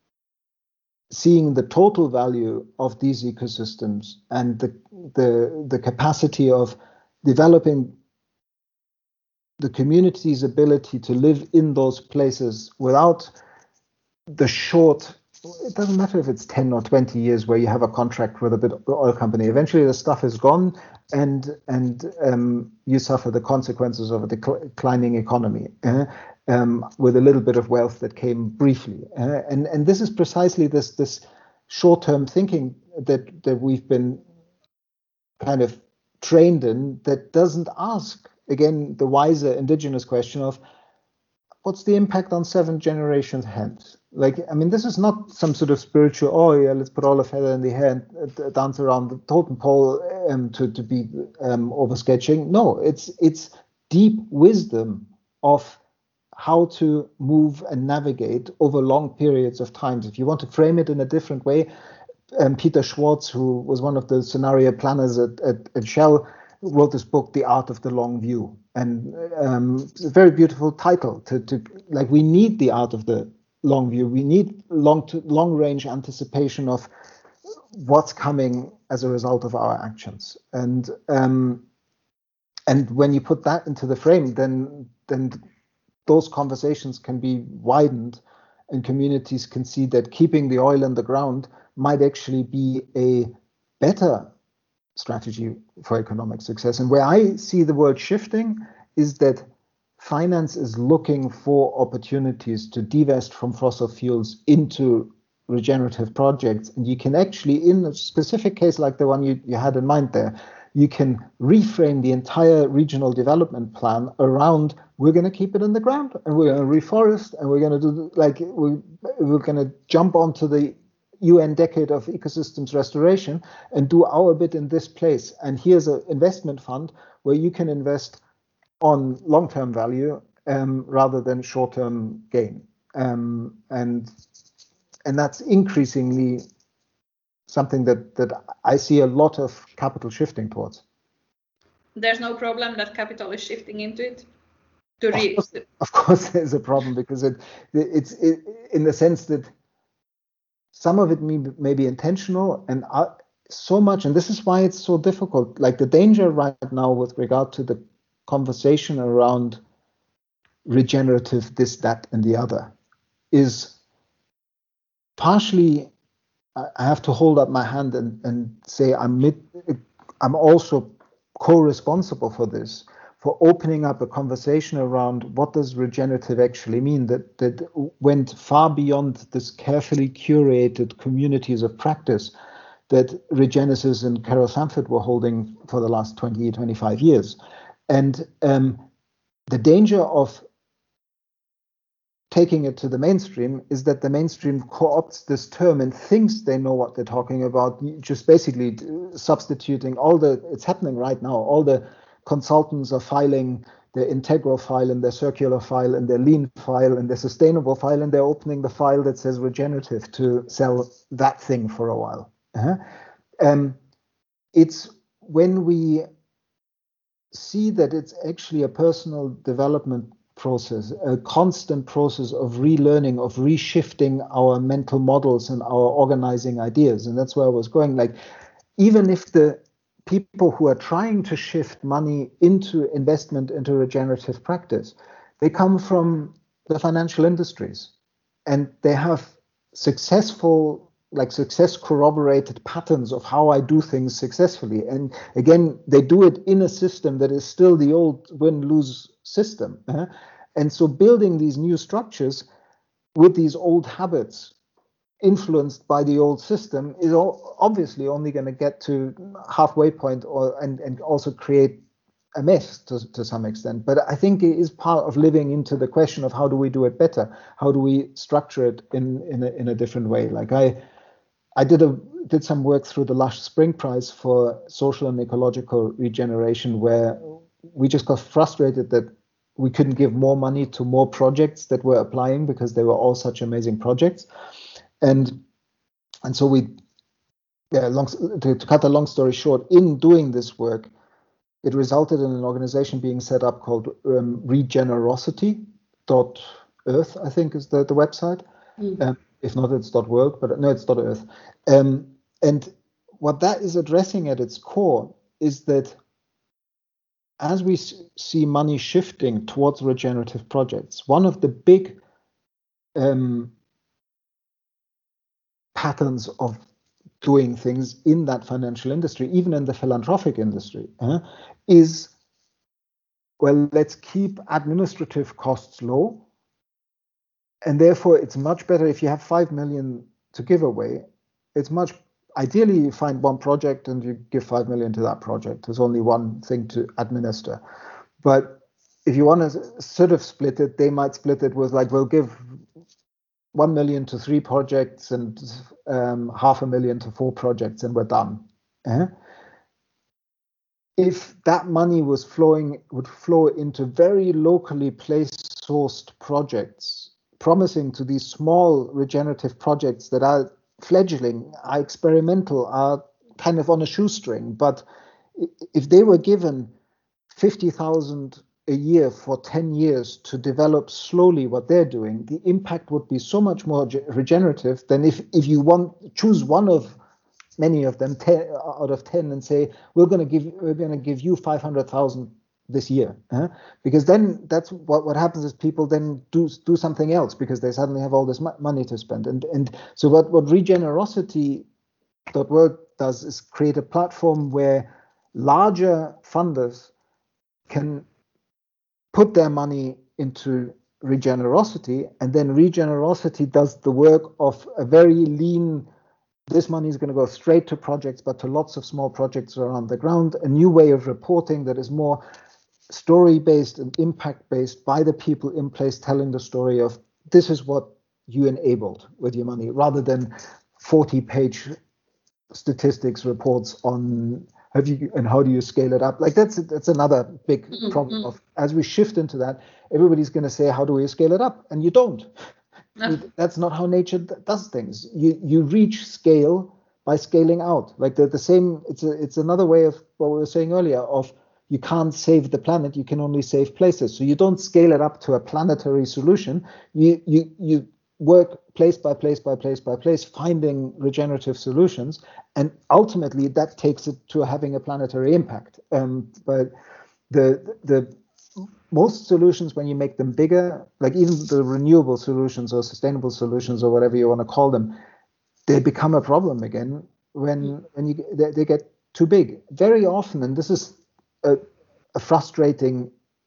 seeing the total value of these ecosystems and the the the capacity of developing the community's ability to live in those places without the short, it doesn't matter if it's ten or twenty years where you have a contract with a big oil company. Eventually the stuff is gone and and um, you suffer the consequences of a declining economy uh, um, with a little bit of wealth that came briefly. Uh, and, and this is precisely this, this short-term thinking that, that we've been kind of trained in that doesn't ask, again, the wiser indigenous question of what's the impact on seven generations hence? Like, I mean, this is not some sort of spiritual, oh yeah, let's put all a feather in the hair and uh, dance around the totem pole um, to, to be um, over sketching. No, it's it's deep wisdom of how to move and navigate over long periods of time. If you want to frame it in a different way, um, Peter Schwartz, who was one of the scenario planners at, at, at Shell, wrote this book, The Art of the Long View. And um, it's a very beautiful title to, to like, we need the art of the long view. We need long to long range anticipation of what's coming as a result of our actions. And um, and when you put that into the frame, then then those conversations can be widened and communities can see that keeping the oil in the ground might actually be a better strategy for economic success. And where I see the world shifting is that finance is looking for opportunities to divest from fossil fuels into regenerative projects. And you can actually, in a specific case like the one you, you had in mind there, you can reframe the entire regional development plan around, we're going to keep it in the ground and we're going to reforest and we're going to do like, we, we're going to jump onto the U N decade of ecosystems restoration and do our bit in this place. And here's an investment fund where you can invest on long-term value um, rather than short-term gain. Um, and and that's increasingly something that, that I see a lot of capital shifting towards. There's no problem that capital is shifting into it? To of, reach course, the... of course there's a problem because it it's it, in the sense that some of it may, may be intentional and uh, so much, and this is why it's so difficult. Like the danger right now with regard to the conversation around regenerative this, that, and the other is partially, I have to hold up my hand and, and say I'm mid, I'm also co-responsible for this, for opening up a conversation around what does regenerative actually mean, that that went far beyond this carefully curated communities of practice that Regenesis and Carol Sanford were holding for the last twenty, twenty-five years. And um, the danger of taking it to the mainstream is that the mainstream co-opts this term and thinks they know what they're talking about, just basically substituting all the, it's happening right now, all the consultants are filing their integral file and their circular file and their lean file and their sustainable file, and they're opening the file that says regenerative to sell that thing for a while. Uh-huh. Um, it's when we see that it's actually a personal development process, a constant process of relearning, of reshifting our mental models and our organizing ideas. And that's where I was going. Like, even if the people who are trying to shift money into investment into regenerative practice, they come from the financial industries, and they have successful, like success corroborated patterns of how I do things successfully. And again, they do it in a system that is still the old win-lose system. Uh, and so building these new structures with these old habits influenced by the old system is all, obviously only going to get to halfway point, or and, and also create a mess to, to some extent. But I think it is part of living into the question of how do we do it better? How do we structure it in, in, a, in a different way? Like I I did a did some work through the Lush Spring Prize for social and ecological regeneration, where we just got frustrated that we couldn't give more money to more projects that were applying because they were all such amazing projects. And and so we, yeah, long, to, to cut a long story short, in doing this work, it resulted in an organization being set up called um, regenerosity dot earth, I think is the, the website. Mm. Um, if not, it's .world, but no, it's .earth. Um, and what that is addressing at its core is that as we see money shifting towards regenerative projects, one of the big um, patterns of doing things in that financial industry, even in the philanthropic industry, uh, is, well, let's keep administrative costs low. And therefore, it's much better if you have five million to give away. It's much, ideally, you find one project and you give five million to that project. There's only one thing to administer. But if you want to sort of split it, they might split it with like, we'll give one million to three projects and um, half a million to four projects, and we're done. Uh-huh. If that money was flowing, would flow into very locally placed sourced projects, promising to these small regenerative projects that are fledgling, are experimental, are kind of on a shoestring. But if they were given fifty thousand a year for ten years to develop slowly what they're doing, the impact would be so much more regenerative than if, if you want choose one of many of them, ten out of ten, and say, we're going to give we're going to give you five hundred thousand this year, uh, because then that's what, what happens is people then do do something else because they suddenly have all this money to spend. And and so what what regenerosity dot world does is create a platform where larger funders can put their money into regenerosity, and then regenerosity does the work of a very lean, this money is going to go straight to projects, but to lots of small projects around the ground, a new way of reporting that is more story-based and impact-based by the people in place telling the story of this is what you enabled with your money, rather than forty-page statistics reports on have you and how do you scale it up. Like that's that's another big mm-hmm. problem of, as we shift into that, everybody's going to say, how do we scale it up? And you don't. No. That's not how nature does things. You you reach scale by scaling out. Like the, the same, it's a, it's another way of what we were saying earlier of, you can't save the planet, you can only save places. So you don't scale it up to a planetary solution. You you you work place by place by place by place, finding regenerative solutions, and ultimately that takes it to having a planetary impact. Um, but the the most solutions, when you make them bigger, like even the renewable solutions or sustainable solutions or whatever you want to call them, they become a problem again when when you they, they get too big. Very often, and this is a, a frustrating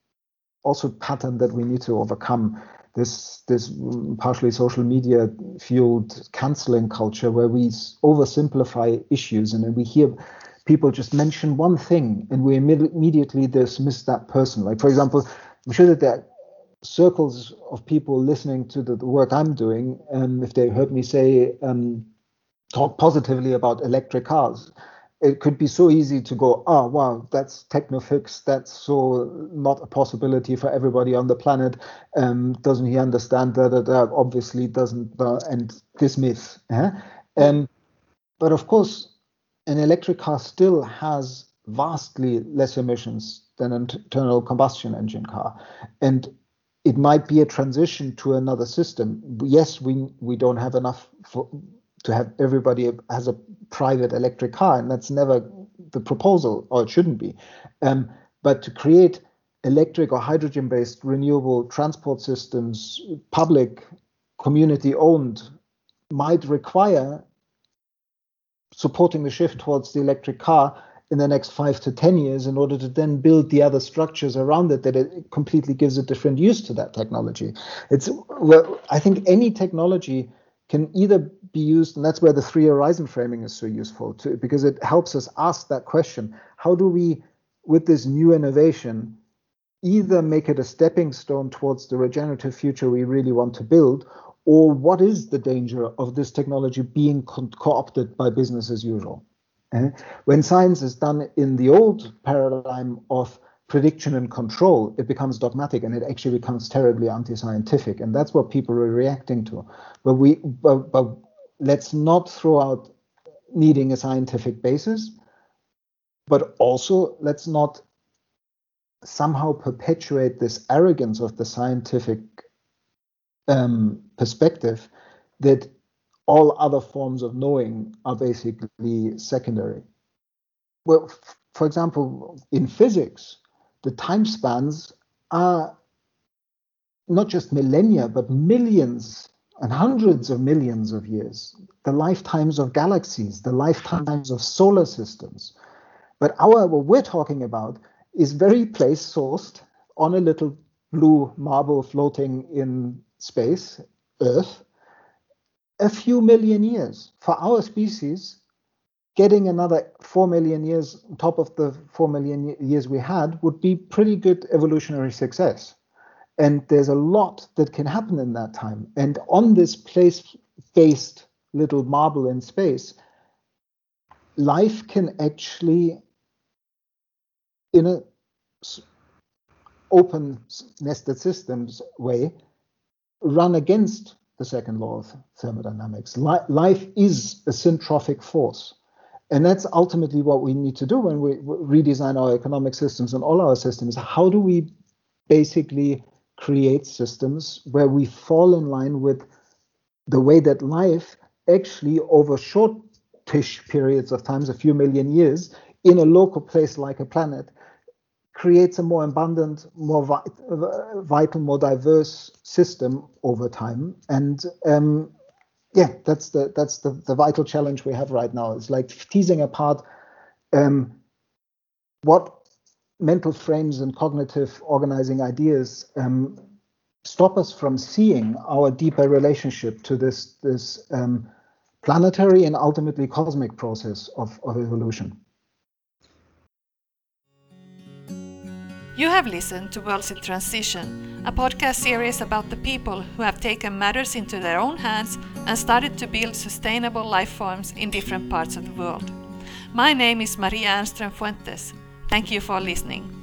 also pattern that we need to overcome, this this partially social media fueled canceling culture where we oversimplify issues, and then we hear people just mention one thing and we imme- immediately dismiss that person. Like, for example, I'm sure that there are circles of people listening to the, the work I'm doing, and if they heard me say, um, talk positively about electric cars, it could be so easy to go, oh, wow, that's techno-fix, that's so not a possibility for everybody on the planet. Um, doesn't he understand that? That uh, obviously doesn't, uh, and dismiss. Eh? Um, but of course, an electric car still has vastly less emissions than an internal combustion engine car. And it might be a transition to another system. Yes, we we don't have enough for, to have everybody has a private electric car, and that's never the proposal, or it shouldn't be. Um, but to create electric or hydrogen-based renewable transport systems, public, community-owned, might require supporting the shift towards the electric car in the next five to ten years in order to then build the other structures around it that it completely gives a different use to that technology. It's, well, I think any technology can either be used, and that's where the three horizon framing is so useful too, because it helps us ask that question. How do we, with this new innovation, either make it a stepping stone towards the regenerative future we really want to build, or what is the danger of this technology being co- co-opted by business as usual? Uh, when science is done in the old paradigm of prediction and control, it becomes dogmatic and it actually becomes terribly anti-scientific, and that's what people are reacting to. But we, but, but let's not throw out needing a scientific basis, but also let's not somehow perpetuate this arrogance of the scientific um, perspective that all other forms of knowing are basically secondary. Well, f- for example, in physics, the time spans are not just millennia, but millions and hundreds of millions of years. The lifetimes of galaxies, the lifetimes of solar systems. But our, what we're talking about is very place-sourced on a little blue marble floating in space, Earth, a few million years. For our species, getting another four million years on top of the four million years we had would be pretty good evolutionary success. And there's a lot that can happen in that time. And on this place-based little marble in space, life can actually, in a open nested systems way, run against the second law of thermodynamics. Life is a syntrophic force. And that's ultimately what we need to do when we redesign our economic systems and all our systems. How do we basically create systems where we fall in line with the way that life actually over shortish periods of times, a few million years, in a local place like a planet, creates a more abundant, more vi- vital, more diverse system over time. And um, yeah, that's the that's the, the vital challenge we have right now. It's like teasing apart um, what mental frames and cognitive organizing ideas um, stop us from seeing our deeper relationship to this this um, planetary and ultimately cosmic process of, of evolution. You have listened to Worlds in Transition, a podcast series about the people who have taken matters into their own hands and started to build sustainable life forms in different parts of the world. My name is Maria Ernström Fuentes. Thank you for listening.